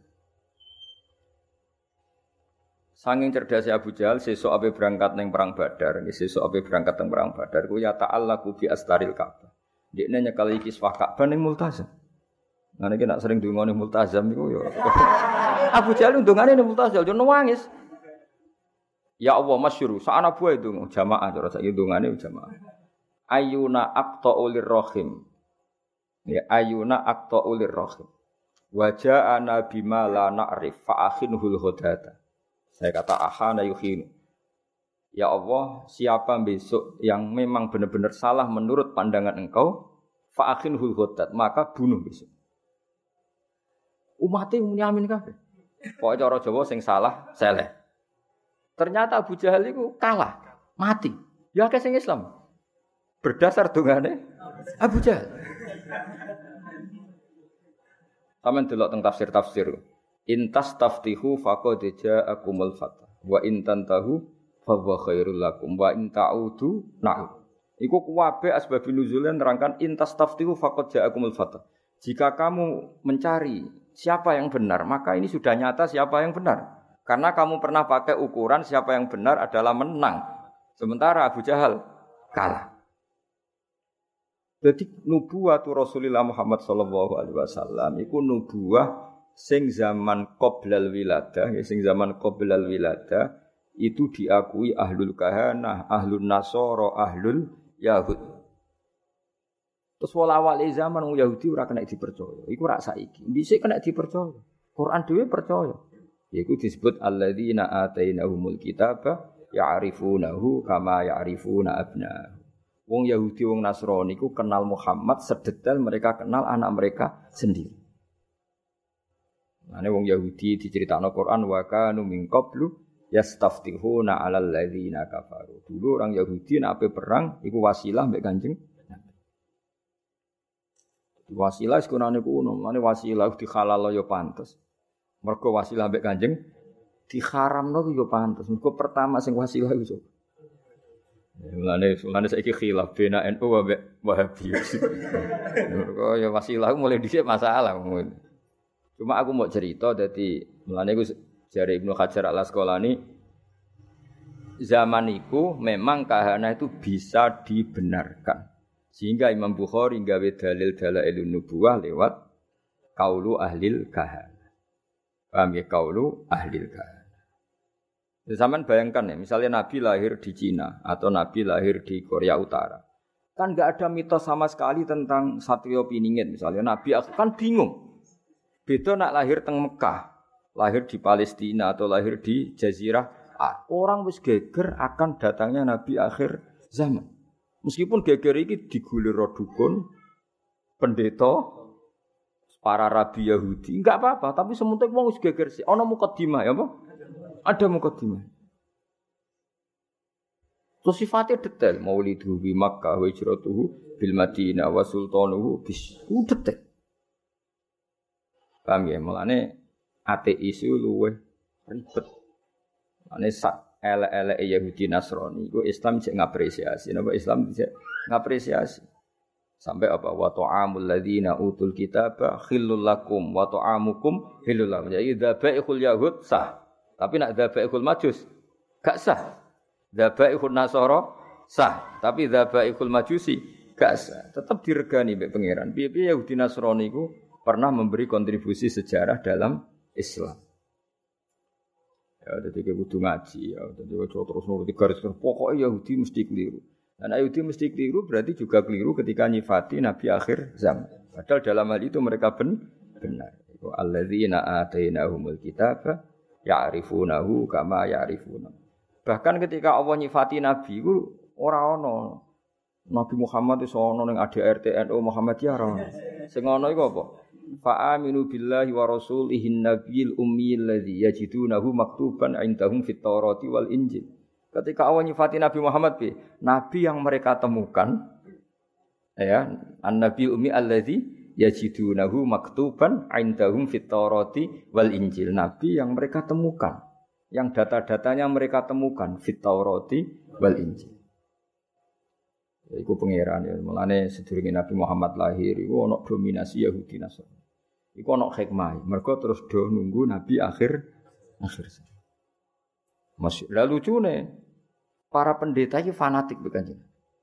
Sanging cerdasnya Abu Jahal sesuk ape berangkat ning perang Badar, sesuk ape berangkat ning perang Badar ku ya ta'allaqu bi astaril Ka'bah. Dekne nyekel iki kiswah Ka'bah ning Multazam. Nah niki nak sering ndongane Multazam niku ya. Abu Jahal ndongane ning Multazam yo nangis. Ya Allah masyhur, sakana buah itu jamaah cara saiki ndongane jamaah. Ayuna aqta'ulir rahim. Ya ayuna aqta'ulir rahim. Wa ja'ana bima la na'rif fa akhinhul ghadata. Saya kata ahana yuhinu. Ya Allah, siapa besok yang memang benar-benar salah menurut pandangan engkau, fa'akhinhul ghadat, maka bunuh besok. Umatnya nyamin kabeh. Pokoke cara Jawa sing salah seleh. Ternyata Abu Jahal itu kalah, mati. Ya akeh sing Islam. Berdasar dongane Abu Jahal. Taman delok teng tafsir-tafsir. Intas taftihu faqad ja'akumul fath wa in tantahu fa huwa khairul lakum wa in ta'udu na'ud. Iku kuwabe asbab nuzulnya nerangkan intas taftihu faqad ja'akumul fath. Jika kamu mencari siapa yang benar, maka ini sudah nyata siapa yang benar. Karena kamu pernah pakai ukuran siapa yang benar adalah menang. Sementara Abu Jahal kalah. Jadi nubuwatu Rasulullah Muhammad sallallahu alaihi wasallam iku nubuwah sing zaman qoblal wiladah, sing zaman qoblal wiladah itu diakui ahlul kahanah, ahlul nasara, ahlul yahud. Terus awal zaman wong Yahudi ora kena dipercaya. Iku rak saiki. Dhisik kena dipercaya. Quran dhewe percaya. Iku disebut alladzina atainahumul kitaba ya'rifunahu kama ya'rifuna abna'ahum. Wong Yahudi wong Nasrani iku kenal Muhammad sedetail mereka kenal anak mereka sendiri. Ane wong Yahudi diceritakno Quran wa kanu min qablu yastaftihuna 'alal ladzina kafaru. Dulu orang Yahudi nek ape perang iku wasilah mbek Kanjeng Nabi. Wasilah sekunane kuno, mane wasilah dihalal ya pantes. Mergo wasilah mbek Kanjeng diharamno ya pantes. Mergo pertama sing wasilah iku. Mulane saiki khilaf bena NU mbek Wahabi. Mergo ya wasilah mulai dhisik masalah ngono. Cuma aku mau cerita, jadi mulanya aku jari Ibnu Hajar al-Asqalani zaman itu memang kahanah itu bisa dibenarkan. Sehingga Imam Bukhari gawe dalil dalailun nubuwah lewat qaulu ahlil kahanah. Paham ya, qaulu ahlil kahanah. Zaman bayangkan ya, misalnya Nabi lahir di Cina atau Nabi lahir di Korea Utara. Kan enggak ada mitos sama sekali tentang Satrio Piningit misalnya. Nabi kan bingung. Beda nak lahir teng Mekah, lahir di Palestina atau lahir di Jazirah, orang wis geger akan datangnya Nabi akhir zaman. Meskipun geger iki digulir dukun, pendeta, para rabi Yahudi, enggak apa-apa, tapi sementing wong wis geger sih. Ana mukadimah ya apa? Ada mukadimah. Terus sifatnya detail, maulidu bi Makkah wa hijratuhu bil Madinah wa sultanuhu bis. Detail. Paham ya, mulane ateis itu luwih ribet. Mulane sak elek-elek Yahudi Nasrani iku Islam cek ngapresiasi. Napa Islam cek ngapresiasi. Sampai apa wa ta'amul ladzina utul kitaba khillul lakum wa ta'amukum khillul lakum. Jadi dzabaihul yahud sah. Tapi nak dzabaihul majus gak sah. Dzabaihul nasara sah. Tapi dzabaihul majusi gak sah. Tetap diregani mbek pangeran. Piye-piye Yahudi Nasrani iku pernah memberi kontribusi sejarah dalam Islam. Ya, jadi kita butuh ngaji. Ya, jadi terus nuruti garis pokoknya Yahudi mesti keliru. Dan Yahudi mesti keliru berarti juga keliru ketika nyifati Nabi akhir zaman. Padahal dalam hal itu mereka benar. Alladzina atainahumul kitaba ya'rifunahu kama ya'rifuna. Bahkan ketika Allah nyifati Nabi itu ora ono. Nabi Muhammad itu ono ning ADRT NU Muhammadiyah ora. Sing ono iku apa? Fa'aminu billahi wa rasulihin nabiyil ummiyil ladzi yajidunahu maktuban 'indahum fit Taurati wal Injil. Ketika Allah nyifati Nabi Muhammad nabi yang mereka temukan ya, an-nabiyul ummi alladzi yajidunahu maktuban 'indahum fit Taurati wal Injil. Nabi yang mereka temukan, yang data-datanya mereka temukan fit Taurati wal Injil. Iku pangeran ya. Mulane sedurunge Nabi Muhammad lahir iku ana dominasi Yahudi Nasrani. Iku ana hikmah. Mergo terus do nunggu Nabi akhir. Masih lalu lucune para pendeta iki fanatik be Kanjeng.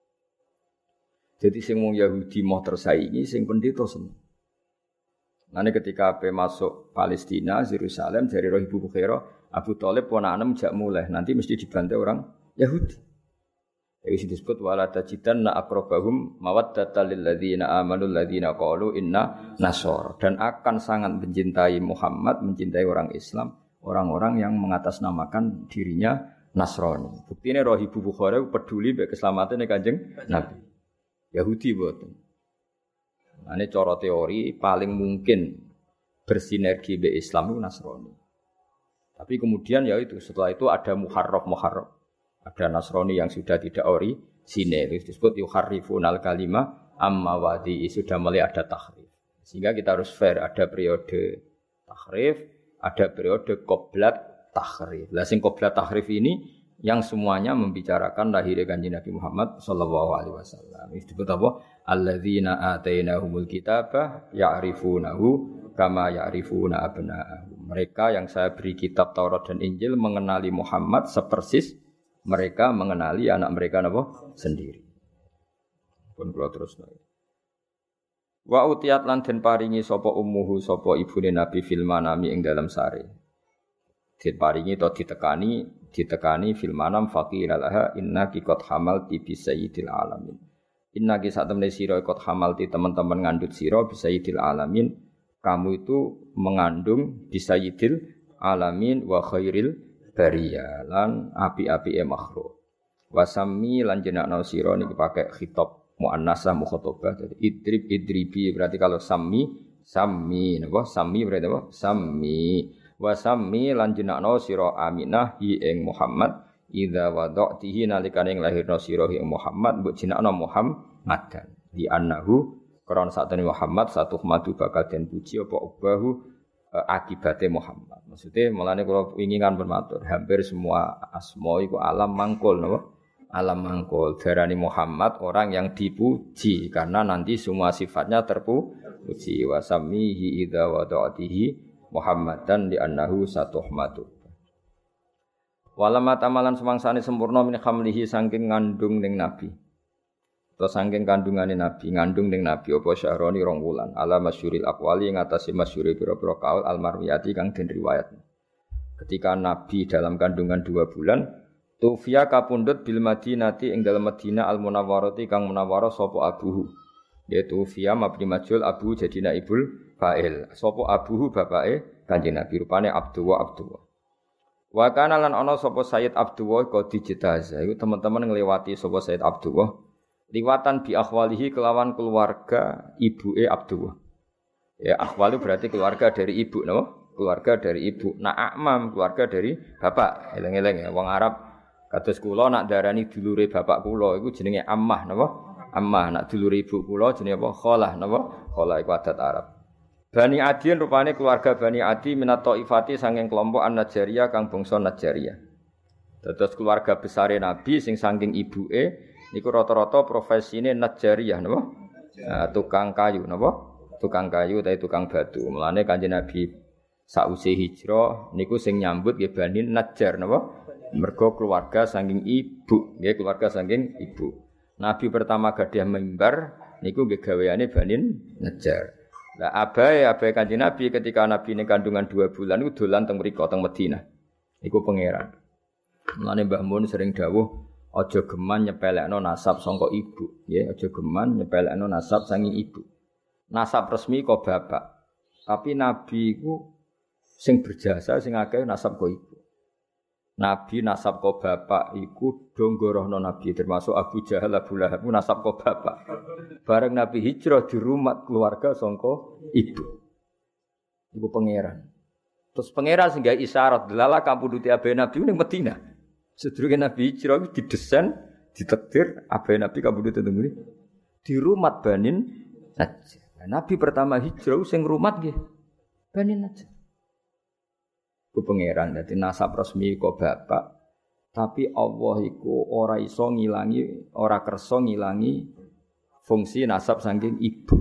Jadi sing wong Yahudi mau tersaingi, sing pendeta seneng. Nanti ketika ape masuk Palestina, Yerusalem dari roh Ibu Bukhairah, Abu Thalib ponakan jak mulai, nanti mesti dibantai orang Yahudi. Itu disebut wala tajidanna aqrabahum mawaddatal lil ladzina amanu alladzina qalu inna nasara, dan akan sangat mencintai Muhammad, mencintai orang Islam, orang-orang yang mengatasnamakan dirinya Nasrani. Buktine roh Ibu Bukhairah peduli mek keselamatan Kanjeng Nabi. Yahudi boten. Ane cara teori paling mungkin bersinergi be Islam itu Nasrani. Tapi kemudian ya itu setelah itu ada muharraf. Ada Nasrani yang sudah tidak orisinil, disebut yuharrifunal kalima amma wadi, sudah mulai ada tahrif. Sehingga kita harus fair, ada periode tahrif, ada periode qoblat tahrif. Lah sing qoblat tahrif ini yang semuanya membicarakan lahirnya Kanjeng Nabi Muhammad sallallahu alaihi wasallam. Disebut apa? Alladzina atainahumul kitaba ya'rifunahu kama ya'rifuna abna'ahum. Mereka yang saya beri kitab Taurat dan Injil mengenali Muhammad sepersis mereka mengenali anak mereka napa sendiri. Pun kula terus nggih. Wa utiyat lan den paringi sapa ummuhu sapa ibune Nabi fil manami ing dalam sare. Diparingi atau ditekani fil manam faqila laha innaki qad hamalti bi sayyidil alamin. Innaki sak temene sira qad hamalti teman-teman ngandut sira bi sayyidil alamin. Kamu itu mengandung bi sayyidil alamin wa khairil bariyah lan api-apike makhluk. Wasami lan jenakno sira niki pakai khitab muannasah mukhatabah. Jadi idribi berarti kalau sami napa? Sami berarti apa? Sami. Wasami lan jenakno sira Aminah hi ing Muhammad idza wada'tihi nalikane ing lahirna sira ing Muhammad mbok jenakno Muhammadan di annahu karena satene Muhammad satu madu bakal den puji apa ubahu akibate Muhammad. Maksudnya mulane kula ingin kan bermatur hampir semua asma iku alam mangkul napa? Alam mangkul darani Muhammad orang yang dipuji karena nanti semua sifatnya terpuji. Wasamihi idza wada'tihi Muhammadan di annahu satuhmatu. Walama tamalan semangsane sempurna min khamlihi saking ngandung ning nabi. Atau saking kandungane nabi, ngandung ning nabi apa syahroni 2 wulan. Ala masyhuril aqwali ngatasi masyhuri pira-pira kaul al-marwiyati kang den riwayat. Ketika nabi dalam kandungan 2 bulan, tufiya kapundhut bil Madinati ing dalem Madinah al-Munawwarati kang munawwarah sapa abuhu. Yaitu fiya mabni majhul abu jadi naibul fa'il. Sapa abuhu bapake Kanjeng Nabi rupane Abdullah. Wa kana lan ana sapa Sayyid Abdullah qadi jitaza. Iku teman-teman ngliwati sapa Sayyid Abdullah liwatan bi akhwalihi kelawan keluarga ibuke Abdullah. Ya akhwali berarti keluarga dari ibu napa? Keluarga dari ibu. Nah akmam keluarga dari bapak. Eleng-eleng ya wong Arab kados kula nak darani dulure bapak kula iku jenenge ammah napa? Ammah nak dulure ibu kula jenenge apa? Khalah napa? Khalah iku adat Arab. Bani Adin rupane keluarga Bani Adi minat Taifati saking kelompok An-Najjariyah kang bangsa Najjariyah. Dados keluarga besare Nabi sing saking ibuke niku rata-rata profesine Najjariyah napa? Tukang kayu napa? Tukang kayu utawa tukang batu. Mulane Kanjeng Nabi sause hijrah niku sing nyambut nggih Bani Najjar napa? Mergo keluarga saking ibu, nggih keluarga saking ibu. Nabi pertama gadah mimbar niku nggih gaweane Bani Najjar. Lah abai Kanjeng Nabi ketika Nabi ini kandungan 2 bulan itu dolan teng mriko teng Madinah. Iku pangeran. Mulane Mbah Mun sering dawuh aja geman nyepelekno nasab saka ibu, nggih, aja geman nyepelekno nasab saking ibu. Nasab resmi kok bapak. Tapi Nabi iku sing berjasa sing akeh nasab kok ibu. Nabi nasab kok bapak iku donggorohno Nabi termasuk Abu Jahal, Abu Lahab nasab kok bapak. Bareng Nabi hijrah di rumah keluarga sangka ibu. Ibu pangeran. Terus pangeran sing gawe isyarat delala kampuduti abe Nabi ning Madinah. Sedurunge Nabi hijrah didesain, ditakdir abe Nabi kampuduti teng di rumah Banin Najjar. Nabi pertama hijrah sing rumat nggih Bani Najjar. Ku pangeran dadi nasab resmi kok bapak, tapi Allah iku ora iso ngilangi, ora kersa ngilangi fungsi nasab saking ibu.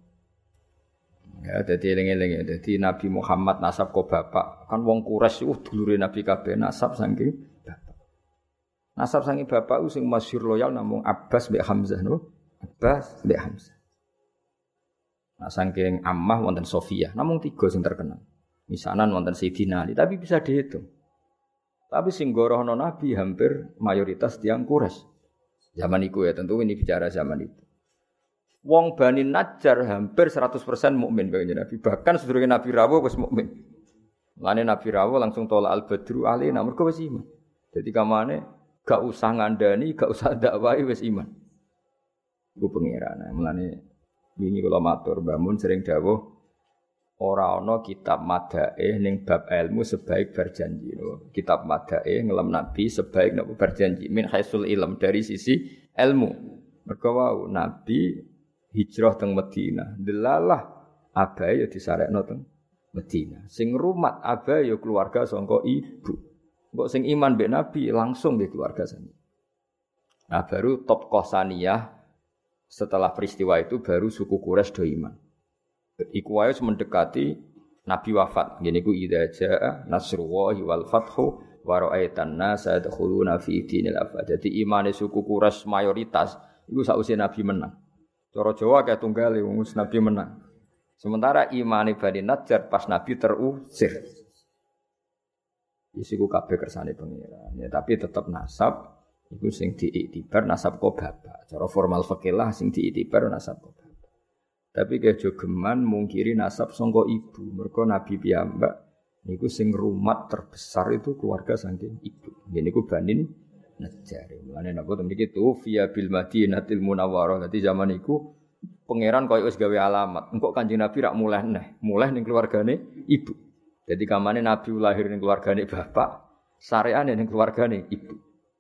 Ya dadi eling-eling ya, dadi Nabi Muhammad nasab kok bapak, kan wong Quraisy dulure Nabi kabeh nasab saking bapak. Nasab saking bapak sing masyhur loyal namung Abbas mbek Hamzah no. Abbas mbek Hamzah. Nah saking Ammah wonten Sofiyah, namung 3 sing terkenal. Misanan wonten Sayyidina Ali, tapi bisa dihitung. Tapi sing gorohno Nabi hampir mayoritas tiyang Quraisy. Zaman iku ya, tentu ini bicara zaman itu. Wong Bani Najjar hampir 100% mukmin kanjeng Nabi. Bahkan sedurunge Nabi rawuh wis mukmin. Lane Nabi rawuh langsung tolak al-badru alaina mergo wis iman. Jadi kamane gak usah ngandani, gak usah dakwahi wis iman. Iku pangeran. Mulane wingi kula matur Mbah Mun sering dawuh ora ana kitab madaih ning bab ilmu sebaik berjanji. Kitab madaih ngelem Nabi sebaik napa berjanji min haisul ilm dari sisi ilmu. Mergo wau Nabi hijrah teng Madinah. Delalah abahe ya disarekno teng Madinah. Sing rumat abahe ya keluarga sangka ibu. Kok sing iman mbek Nabi langsung di keluarga sani. Nah baru top Qosaniyah setelah peristiwa itu baru suku Quraisy do iman. Iku wae mendekati Nabi wafat. Ngene iku idza jaa nasrullahi wal fathu wa ra'aitan nasa yadkhuluna fi dinil afwaj. Jadi imane suku Quraisy mayoritas iku sausé Nabi menang. Cara Jawa kaya tunggale wong Nabi menang. Sementara imane Bani Najjar pas Nabi terusir. Isiku kabeh kersane pangeran. Ya tapi tetap nasab iku sing diiktibar nasab kok bapak. Cara formal fikih lah sing diiktibar nasab kok bapak. Tapi kejo geman mungkiri nasab sangka ibu. Mergo Nabi piyambak niku sing rumat terbesar itu keluarga saking ibu. Ngene niku Bani Najjar. Mulane napa to mriki tu fiya bil Madinatil Munawwarah. Dadi zaman iku pangeran koyo wis gawe alamat. Engko Kanjeng Nabi rak mulih ning keluargane ibu. Jadi kamane Nabi lahir ning keluargane bapak, sareane ning keluargane ibu.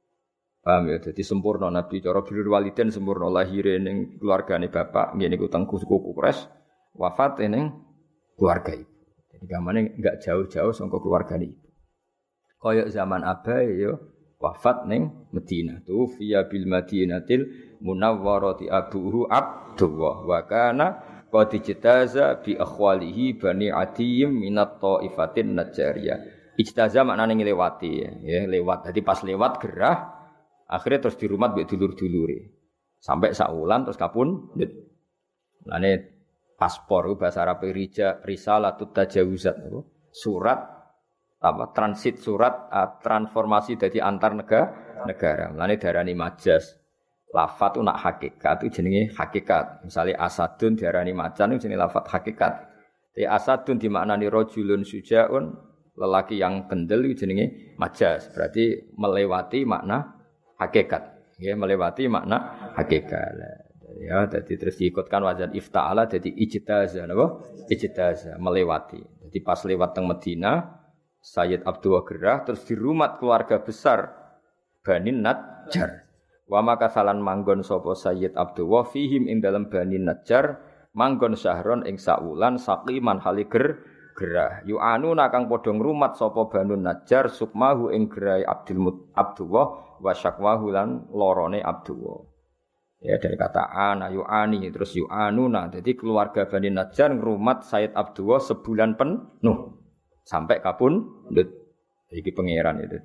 Paham ya? Jadi sempurna Nabi cara birrul walidain sempurna lahir ning keluargane bapak, ngene iku teng suku Quraisy, wafat ning keluarga ibu. Jadi kamane enggak jauh-jauh saka keluargane ibu. Kaya zaman abahe ya wafat ning Madinah. Tu fiya bil Madinatil Munawwarati abuhu Abdullah wa kana qad ijtaza bi akhwalihi Bani Adiyim minat taifatin Najjariyah. Ijtaza maknane nglewati ya, lewat. Dadi pas lewat gerah akhirnya terus dirumat mbek dulur-dulure. Sampai saulan terus kapundhut. Lane paspor bahasa Arab risalatut tajawuzat surat apa transit surat transformasi dari antar negara. Lane darani majas. Lafat itu nak hakikat itu jenenge hakikat. Misalnya asadun diarani macan itu jenenge lafat hakikat. Tapi asadun dimaknani rajulun sujaun, lelaki yang kendel itu jenenge majas. Berarti melewati makna hakikat. Ya, melewati makna hakikat. Ya, jadi terus diikutkan wazan ifta'ala jadi ijtaza napa? Ijtaza, melewati. Jadi pas lewat teng Madinah, Sayyid Abdullah gerah terus dirumat keluarga besar Bani Najjar. Wa maka salan manggon sapa Sayyid Abdullah fihim ing dalem Bani Najjar manggon syahron ing saulan saqiman haliger gerah yu'anu nakang padha ngrumat sapa Bani Najjar sukmahu ing gerai Abdullah wa syakwahu lan lorone Abdullah. Ya dari kata ana yu'ani terus yu'anuna. Jadi keluarga Bani Najjar ngrumat Sayyid Abdullah sebulan penuh sampai kapundhut. Iki pangeran ya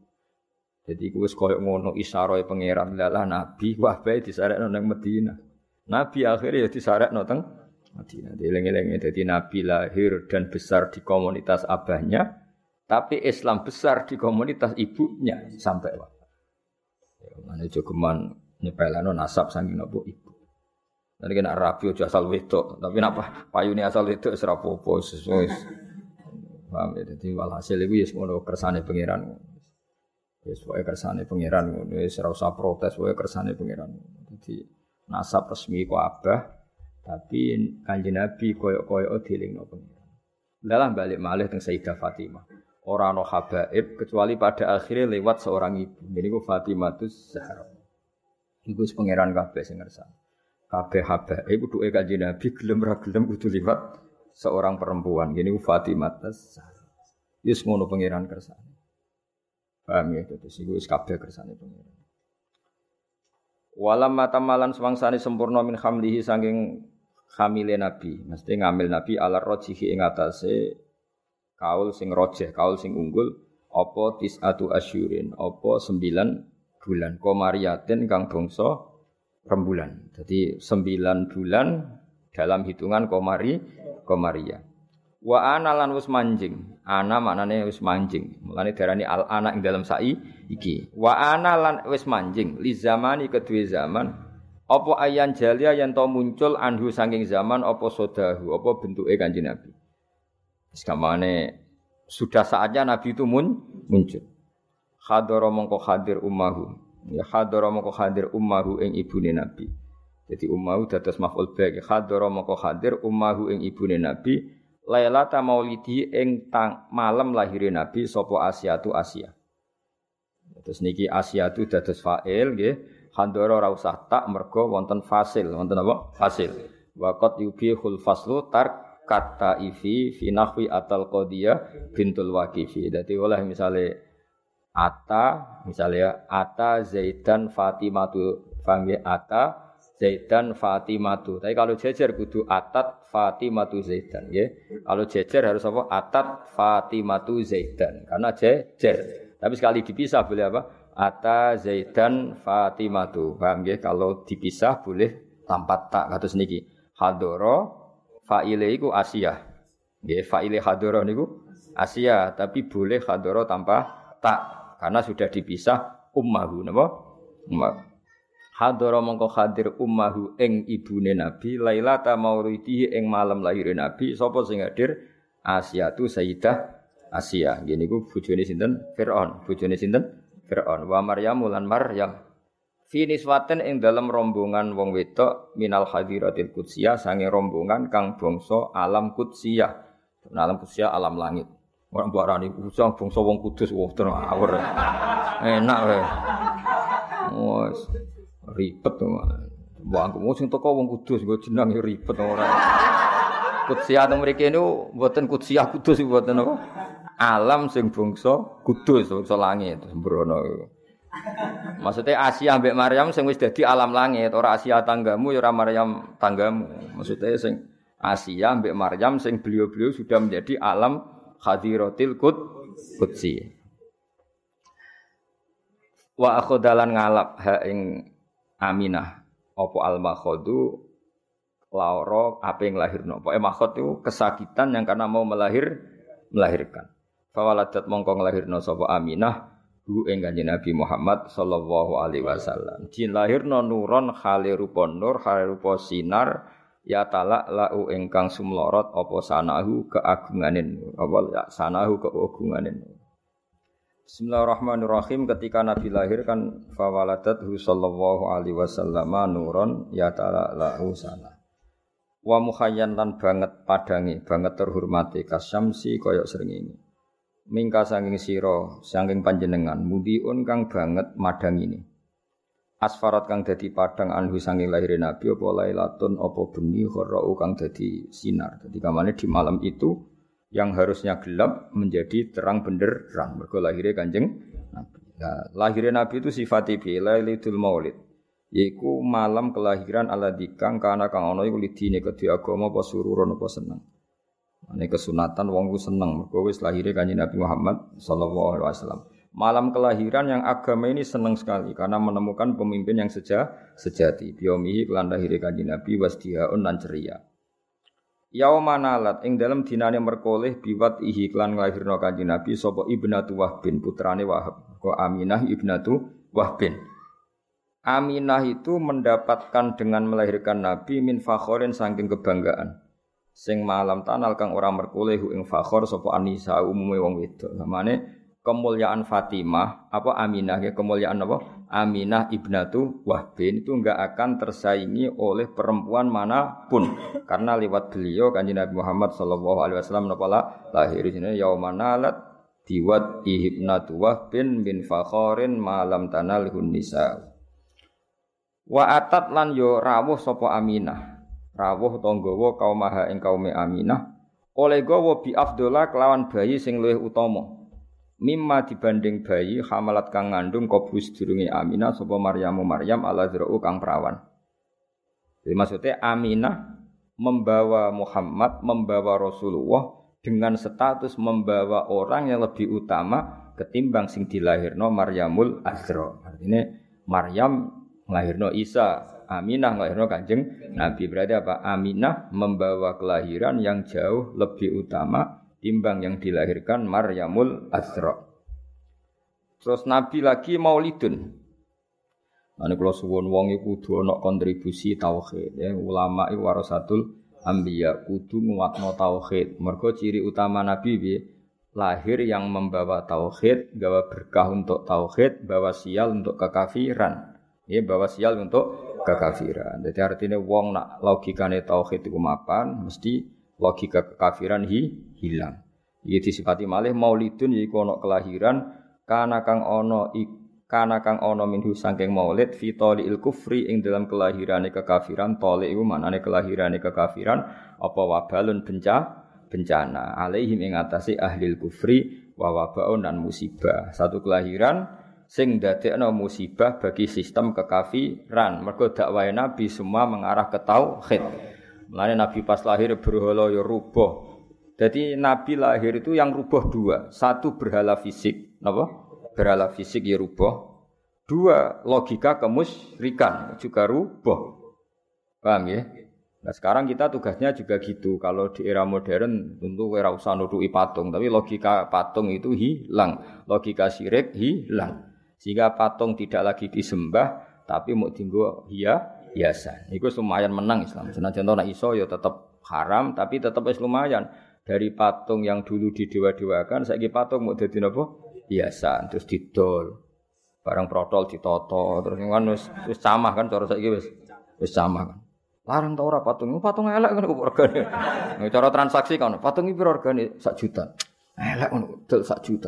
jadi wis koyo ngono isyarahe pangeran lalah nabi wah bae disarekno nang Madinah. Nabi akhirnya ya disarekno teng Madinah. Dieling-eling dadi nabi lahir dan besar di komunitas abahnya, tapi Islam besar di komunitas ibunya sampai wafat. Ya mane jogeman nyepelano nasab saking napa ibu. Nanti kena rabi aja asal wedok, tapi napa payune asal wedok wis ora apa-apa wis. Paham ya dadi walhasil iku ya ngono kersane pangeran. Wis wae kersane pangeran ngono wis ora usah protes wae kersane pangeran. Dadi nasab resmi ku abah tapi Kanjeng Nabi koyo-koyo dilingno pangeran. Lalah balik malih teng Sayyidah Fatimah. Ora ana habaib kecuali pada akhirnya lewat seorang ibu. Niku Fatimatus Zahra. Iku wis pangeran kabeh sing ngersane. kabeh habaib duwe Kanjeng Nabi gelem ra gelem kudu liwat seorang perempuan. Gini Fatimah tas. Wis ngono pangeran kersane. Paham ya terus iku wis kabeh kersane pangeran. Walam matamalan semangsane sempurna min hamlihi saking hamile Nabi. Mesti ngambil Nabi ala rojihi ing atase kaul sing rojeh, kaul sing unggul apa tisatu asyurin, apa 9 bulan komariatin kang bangsa rembulan. Jadi 9 bulan dalam hitungan komaria. Wa ana lan wis manjing. Ana maknane wis manjing. Mulane diarani al ana ing dalam sai iki. Wa ana lan wis manjing li zamani kedue zaman apa ayan jalia yen to muncul anhu saking zaman apa sodahu apa bentuke Kanjeng Nabi. Wis kamane sudah saatnya Nabi itu muncul. Hadara mongko hadir ummahu. Ya hadara mongko hadir ummahu ing ibune Nabi. Jadi ummahu dados maf'ul bih. Hadara mongko hadir ummahu ing ibune Nabi. Lailata maulidi ing malam lahire Nabi sapa Asyatu Asya. Terus niki Asyatu dados fa'il nggih. Hadara ora usah tak mergo wonten fasil. Wonten apa? Fasil. Waqat yubihul faslu kata ifi fi nahwi atal qadiyah bintul waqifi. Dadi oleh misale ata Zaidan Fatimatu. Paham ya? Ata Zaidan Fatimatu. Tapi kalau jejer kudu atat Fatimatu Zaidan ya. Kalau jejer harus apa? Atat Fatimatu Zaidan. Karena jejer. Tapi sekali dipisah boleh apa? Ata Zaidan Fatimatu. Paham ya? Kalau dipisah boleh tanpa tak kados niki. Hadara fa'ile iku Asia. Nggih, fa'ile hadara niku Asia, tapi boleh hadara tanpa tak karena sudah dipisah ummahu napa? Ummah. Hadara mongko hadir ummahu ing ibune Nabi lailata mauridihi ing malam lahir Nabi. Sapa sing hadir? Asyatu Sayyidah Asia. Nggih niku bojone sinten? Firaun. Bojone sinten? Firaun. Wa Maryam lan Maryam. Fi niswaten ing dalam rombongan wong wedok minal hadiratil qudsiyah sange rombongan kang bangsa alam qudsiyah. Alam qudsiyah alam langit. Ora mbok arani bangsa wong kudus wong awur. Enak wae. Wes ribet to. Mbok aku sing teko wong kudus nggo jeneng ribet ora. Qudsiyah teng mriki niku mboten qudsiyah kudus mboten apa. Alam sing bangsa kudus, bangsa langit sembrono. Maksudnya Asia ambek Maryam sing wis dadi alam langit, ora Asia tanggamu ya ora Maryam tanggamu. Maksudnya sing Asia ambek Maryam sing beliau-beliau sudah menjadi alam hadiratil qudsi. Wa akhodalan ngalap ha ing Aminah apa al-makhadu laura ape nglahirno. Pokoke makhod itu kesakitan yang karena mau melahirkan. Fawaladat mongko nglahirno sapa Aminah hu ing Kanjeng Nabi Muhammad sallallahu alaihi wasallam. Jin lahirna nuron khale rupa nur, khale rupa sinar ya talak lau ingkang sumlorot apa sanahu keagunganen apa ya sanahu keagunganen. Bismillahirrahmanirrahim. Ketika Nabi lahir kan fawaladat hu sallallahu alaihi wasallam nuron ya talak lau sana. Wa mukhayyan lan banget padange, banget terhormati kasyamsi kaya srengenge. Mingka sanging sira sanging panjenengan mudiun kang banget madang ini asfarat kang dadi padang anhu sanging lahir Nabi apa lailatun apa bengi kharau kang dadi sinar. Dadi kamane di malam itu yang harusnya gelap menjadi terang benderang mergo lahire Kanjeng Nabi. Nah, lahir Nabi itu sifate lailatul maulid yaiku malam kelahiran aladzi kang kana kang ana iku lidine kedhe agama apa sururun apa seneng. Ini kesunatan wong ku seneng mergo wis lahire Kanjeng Nabi Muhammad sallallahu alaihi wasallam. Malam kelahiran yang agama ini seneng sekali karena menemukan pemimpin yang sejati. Biomihi kelan lahire Kanjeng Nabi wasdihaun lan ceria. Yaumanalat ing dalam dinane merkoleh biwat ihi kelan nglahirno Kanjeng Nabi sapa Ibnatu Wahbin putrane Wahab. Ko Aminah Ibnatu Wahbin. Aminah itu mendapatkan dengan melahirkan Nabi min fakhorin saking kebanggaan. Sing malam tanal kang ora merkoleh ing fakhor sapa anisa umume wong wedok. Namane kemuliaan Fatimah apa Aminah ya kemuliaan apa? Aminah Ibnatu Wahbin itu enggak akan tersaingi oleh perempuan manapun karena lewat beliau Kanjeng Nabi Muhammad sallallahu alaihi wasallam napa lahir dina yaumanalat diwat Ibnatu Wahbin bin fakhorin malam tanal nisa. Wa atat lan yo rawuh sapa Aminah. Rawuh utawa nggawa kaumaha ing kaume Aminah. Oleh gawa bi afdhola kelawan bayi sing luwih utama. Mimma dibanding bayi hamalat kang ngandung kobus durunge Aminah sapa Maryam ala zra'u kang perawan. Jadi maksudnya Aminah membawa Muhammad, membawa Rasulullah dengan status membawa orang yang lebih utama ketimbang sing dilahirno Maryamul Azra. Artinya Maryam nglahirno Isa, Aminah nglahirno Kanjeng Nabi. Berarti apa? Aminah membawa kelahiran yang jauh lebih utama timbang yang dilahirkan Maryamul Azra. Terus Nabi lagi maulidun. Ane kula suwun wong iku kudu ana kontribusi tauhid ya, ulama iku warasatul anbiya kudu nguatno tauhid. Mergo ciri utama Nabi piye? Lahir yang membawa tauhid, gawa berkah untuk tauhid, bawa sial untuk kekafiran. Ya, bawa sial untuk kekafiran. Jadi artinya wong nak logikane tauhid iku mapan, mesti logika kekafiran hilang. Iki disifati malih maulidun yaiku ana kelahiran kana kang ana minhu saking maulid fi taliil kufri ing dalam kelahirane kekafiran. Tali iku maknane kelahirane kekafiran apa wabalun bencana alaihim ing atase ahli kufri wa wabaun dan musibah. Satu kelahiran sing dadekno musibah bagi sistem kekafiran. Mergo dakwahe Nabi semua mengarah ke tauhid. Mulane Nabi pas lahir berhala ya rubuh. Jadi Nabi lahir itu yang rubuh dua. Satu berhala fisik, napa? Berhala fisik ya rubuh. Dua, logika kemusyrikan juga rubuh. Paham ya? Nah sekarang kita tugasnya juga gitu. Kalau di era modern tentu ora usah nuduki patung, tapi logika patung itu hilang, logika syirik hilang. Sehingga patung tidak lagi disembah, tapi mau dienggo hiasan. Iku lumayan menang Islam. Senajan ora iso ya tetap haram, tapi tetap wis lumayan. Dari patung yang dulu didewa-dewakan, saiki patung mau dadi napa? Hiasan, terus didol. Barang protol ditoto, terus kan wis camah kan cara saiki wis camah kan. Larang ta ora patung elek kan kok regane. Cara transaksi kan patung iki piro regane 1 juta. Elek ngono dol 1 juta,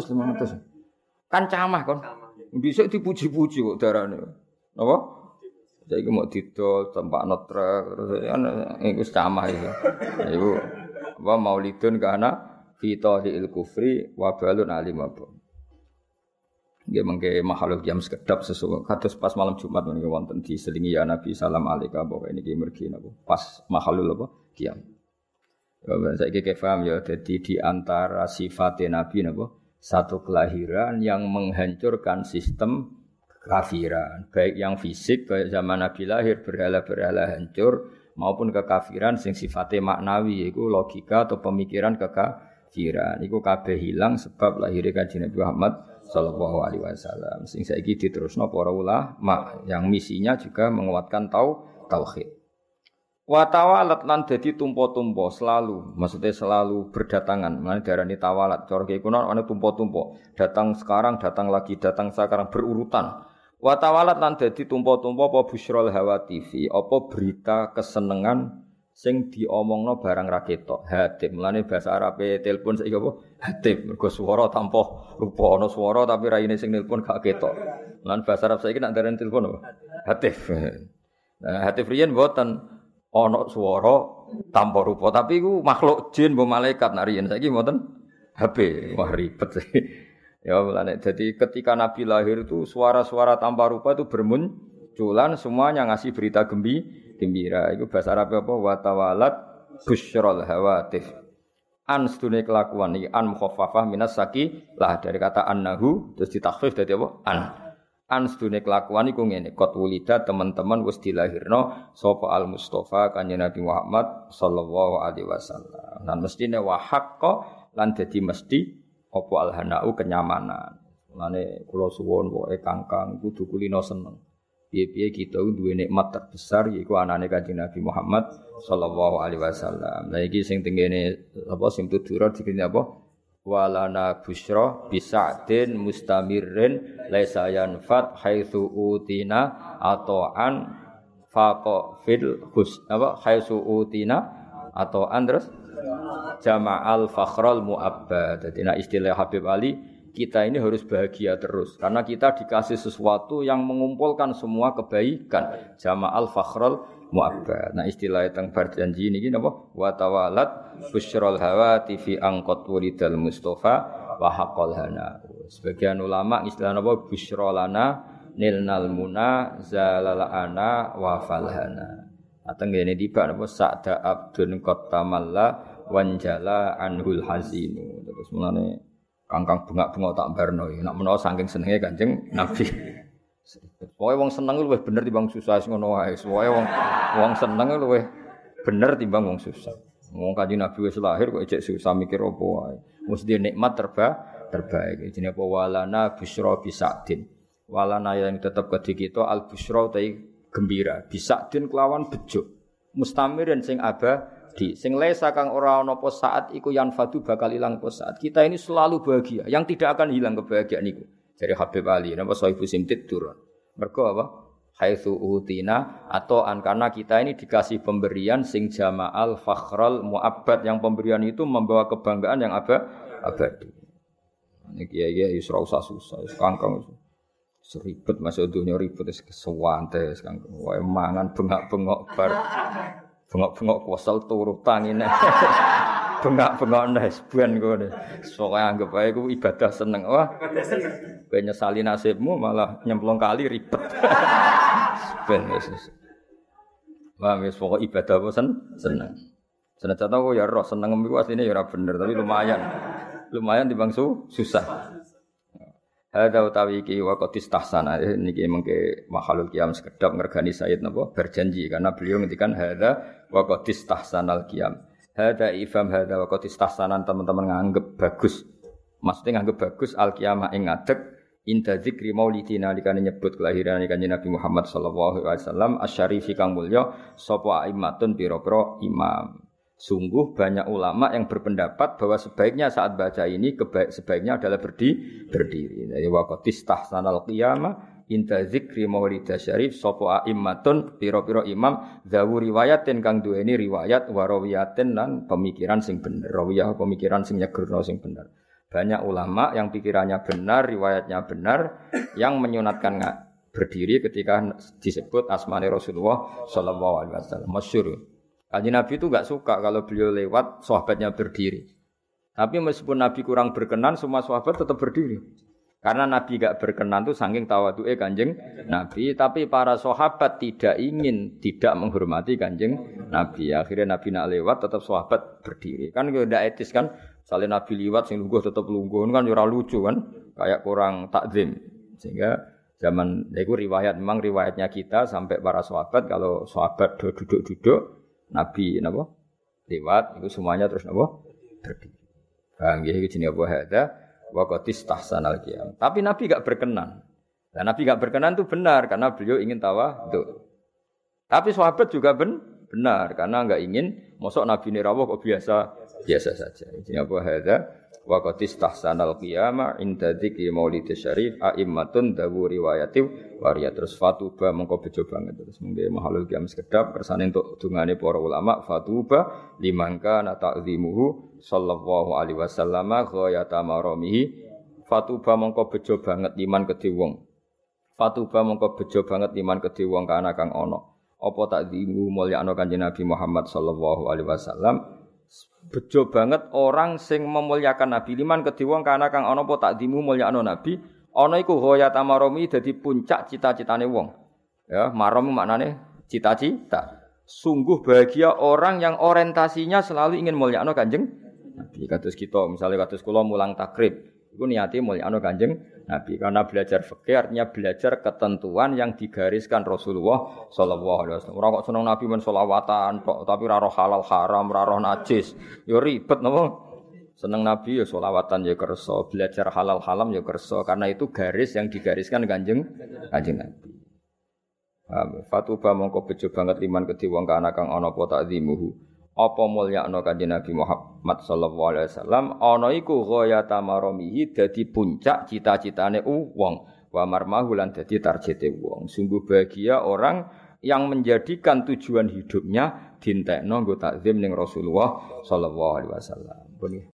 500. Kan camah kon. Dhisik dipuji-puji kok darane. Napa? Saiki mau didol tempakno truk terus kan iku camah iku. Iku apa maulidun kana fi tadil kufri wa balun alim apa. Nggih mengke makhluk jam sekedap sesuatu kados pas malam Jumat menika wonten diselingi ya Nabi salam alaika pokoke niki mergi napa pas makhluk apa kiam. Ya saiki paham ya dadi di antara sifat Nabi napa satu kelahiran yang menghancurkan sistem kekafiran baik yang fisik kayak zaman Nabi lahir berhala-berhala hancur maupun kekafiran sing sifatnya maknawi yaiku logika atau pemikiran kekafiran iku kabeh hilang sebab lahirnya Kanjeng Nabi Muhammad sallallahu alaihi wasallam. Sing saiki diterusno para ulama yang misinya juga menguatkan tauhid. Wa tawalat lan dadi tumpo-tumpo selalu, maksudnya selalu berdatangan. Mane diarani tawalat. Cara kiye kuno ana tumpo-tumpo. Datang sekarang, datang lagi, datang sekarang berurutan. Wa tawalat lan dadi tumpo-tumpo apa busyrul hawa TV, apa berita kesenengan sing diomongno barang ra ketok. Hatim. Mulane bahasa Arabe telepon saiki apa? Hatim. Mergo swara tanpa rupa ana swara tapi raine sing nelpon gak ketok. Lan bahasa Arab saiki nek ndarani telepon apa? Hatif. Nah, hatif riyen mboten ana swara tanpa rupa tapi iku makhluk jin mbok malaikat nek riyen saiki mboten HP. Wah ribet sih. Ya mulane jadi ketika Nabi lahir itu suara-suara tanpa rupa itu bermunculan semuanya ngasih berita gembira. Iku bahasa Arab apa? Wa tawalat busyrul hawatif. An sedune kelakuan iki an mukhaffafah minas saqilah dari kata annahu terus ditakhfif dadi apa? An sedune kelakuan iku ngene, qad wulida teman-teman wis dilahirno sapa al Mustofa Kanjeng Nabi Muhammad sallallahu alaihi wasallam. Lan mestine wa haqqo lan dadi mesti apa al hanau kenyamanan. Mane kula suwun pokoke Kangkang kudu kulino seneng. Piye-piye kita duwe nikmat terbesar yaiku anane Kanjeng Nabi Muhammad sallallahu alaihi wasallam. Lah iki sing tengene apa sing tudura dikene apa? Walana busyra bisa'din mustamirrin laisa yanfat haitsu utina ata'an faqa fil hus apa haitsu utina ata'an terus jama'al fakhral mu'abbad. Dadi nek istilah Habib Ali kita ini harus bahagia terus karena kita dikasih sesuatu yang mengumpulkan semua kebaikan. Jama'al fakhrul mu'abbad. Nah, istilah teng berjanji niki napa? Wa tawalat busyrul hawati fi angqat walidal mustofa wa haqqal hana. Sebagian ulama istilah napa? Busyrolana nilnal muna zalalana wa falhana. Ateng ngene tiba napa sa'da abdun qatamalla wanjala anhul hazinu. Terus mulane kangkang bengak-bengok tak barno. Nak menawa saking senenge Kanjeng Nabi. Pokoke wong seneng luwih bener timbang susah ngono wae. Pokoke wong seneng luwih bener timbang wong susah. Wong Kanjeng Nabi wis lahir kok ejek susah mikir apa wae. Mesti dia nikmat terbaik. Jenenge apa walana busyra bisa'din. Walana yang tetap kedhi kita al busyra utai gembira. Bisa'din kelawan bejo. Mustamirin sing sing lesa kang ora ana apa saat iku yanfadu bakal ilang apa saat. Kita ini selalu bahagia, yang tidak akan hilang kebahagiaan niku. Dari Habib Ali napa Sohibu Simtid turun. Mergo apa? Haitsu utina atau karena kita ini dikasih pemberian sing jama'al fakhrul mu'abbad, yang pemberian itu membawa kebanggaan yang abadi. Niki ya wis ora usah susah, wis kangkang seribet masuk dunia ribet wis kesuwante kangkang. Wae mangan bengak-bengok bar. Bengok-bengok kuasal turu tangine. Bengak-bengok nesben kowe. Sok anggap ae ku ibadah seneng. Wah. Kowe nyesali nasibmu malah nyemplung kali ribet. Ben wis. Wah, wis pokok ibadah apa seneng. Senajan aku ya roh seneng iku asline ya ora bener, tapi lumayan. Lumayan timbang susah. Hadza utawi iki waqt istahsana niki mengke makhluk qiyam sekedap ngergani Sayyid napa berjanji karena beliau ngendikan hadza waqt istahsanal qiyam. Hadza ifham hadza waqt istahsanan teman-teman nganggep bagus. Maksudnya nganggep bagus al qiyamah ing ngadeg inda dzikri maulidina dikane nyebut kelahiran Kanjeng Nabi Muhammad sallallahu alaihi wasallam asyarifi kang mulya sapa aimatun pira-pira imam. Sungguh banyak ulama yang berpendapat bahwa sebaiknya saat baca ini sebaiknya adalah berdiri. Jadi waqt istahsanal qiyamah inda dzikri maulidasy syarif sapa aimmatun pira-pira imam zawu riwayatin kang duweni riwayat warawiyatin lan pemikiran sing bener. Rawiyah pemikiran sing nyegerno sing bener. Banyak ulama yang pikirannya benar, riwayatnya benar yang menyunatkan berdiri ketika disebut asmane Rasulullah sallallahu alaihi wasallam. Masyhur. Kanjeng Nabi itu enggak suka kalau beliau lewat sahabatnya berdiri. Tapi meskipun Nabi kurang berkenan, semua sahabat tetap berdiri. Karena Nabi enggak berkenan itu saking tawadhu'e Kanjeng Nabi, tapi para sahabat tidak menghormati Kanjeng Nabi. Akhirnya Nabi nak lewat tetap sahabat berdiri. Kan enggak etis kan? Misalnya Nabi liwat sing lungguh tetap lungguh kan ora lucu kan? Kayak kurang takzim. Sehingga zaman itu memang riwayatnya kita sampai para sahabat kalau sahabat duduk-duduk Nabi napa lewat itu semuanya terus napa berdiri. Paham nggih iki jenenge apa hadza waqt istahsanal qiyam. Tapi Nabi enggak berkenan. Dan Nabi enggak berkenan itu benar karena beliau ingin tawadhu. Tapi sahabat juga benar karena enggak ingin mosok Nabi rawuh kok biasa saja. Jenenge apa hadza waqt istahsanal qiyam inda dzikri maulidasy syarif aimmatun dawu riwayati waria terus fatuba mengko bejo banget terus mengke mahalul qiyam sekedap kersane entuk dungane para ulama fatuba limangka na ta'zimuhu sallallahu alaihi wasallam ghayata maramihi fatuba mengko bejo banget liman kedhe wong fatuba mengko bejo banget liman kedhe wong kana kang ana apa ta'zimu mulyakno Kanjeng Nabi Muhammad sallallahu alaihi wasallam bejo banget orang sing memuliakan Nabi liman kedhe wong kana kang ana apa ta'zimu mulyakno Nabi. Ana iku ghayat amaromi dadi puncak cita-citane wong. Ya, marom maknane cita-cita. Sungguh bahagia orang yang orientasinya selalu ingin mulyakno Kanjeng Nabi. Kados kita, misalnya kados kula mulang takrib, iku niate mulyakno Kanjeng Nabi. Karena belajar fikih artinya belajar ketentuan yang digariskan Rasulullah sallallahu alaihi wasallam. Ora kok seneng Nabi men selawatan tok, tapi ora roh halal haram, ora roh najis. Ya ribet napa? Seneng Nabi ya sholawatan ya kersa, belajar halal haram ya kersa, karena itu garis yang digariskan Kanjeng Nabi. Fatuba mongko bejo banget liman kedhe wong kana kang ana apa takzimuhu. Apa mulyakno Kanjeng Nabi Muhammad sallallahu alaihi wasallam ana iku ghayata maramihi dadi puncak cita-citane wong, wa marmahu lan dadi tarjete wong. Sungguh bahagia orang yang menjadikan tujuan hidupnya dintekno nggo takzim ning Rasulullah sallallahu alaihi wasallam.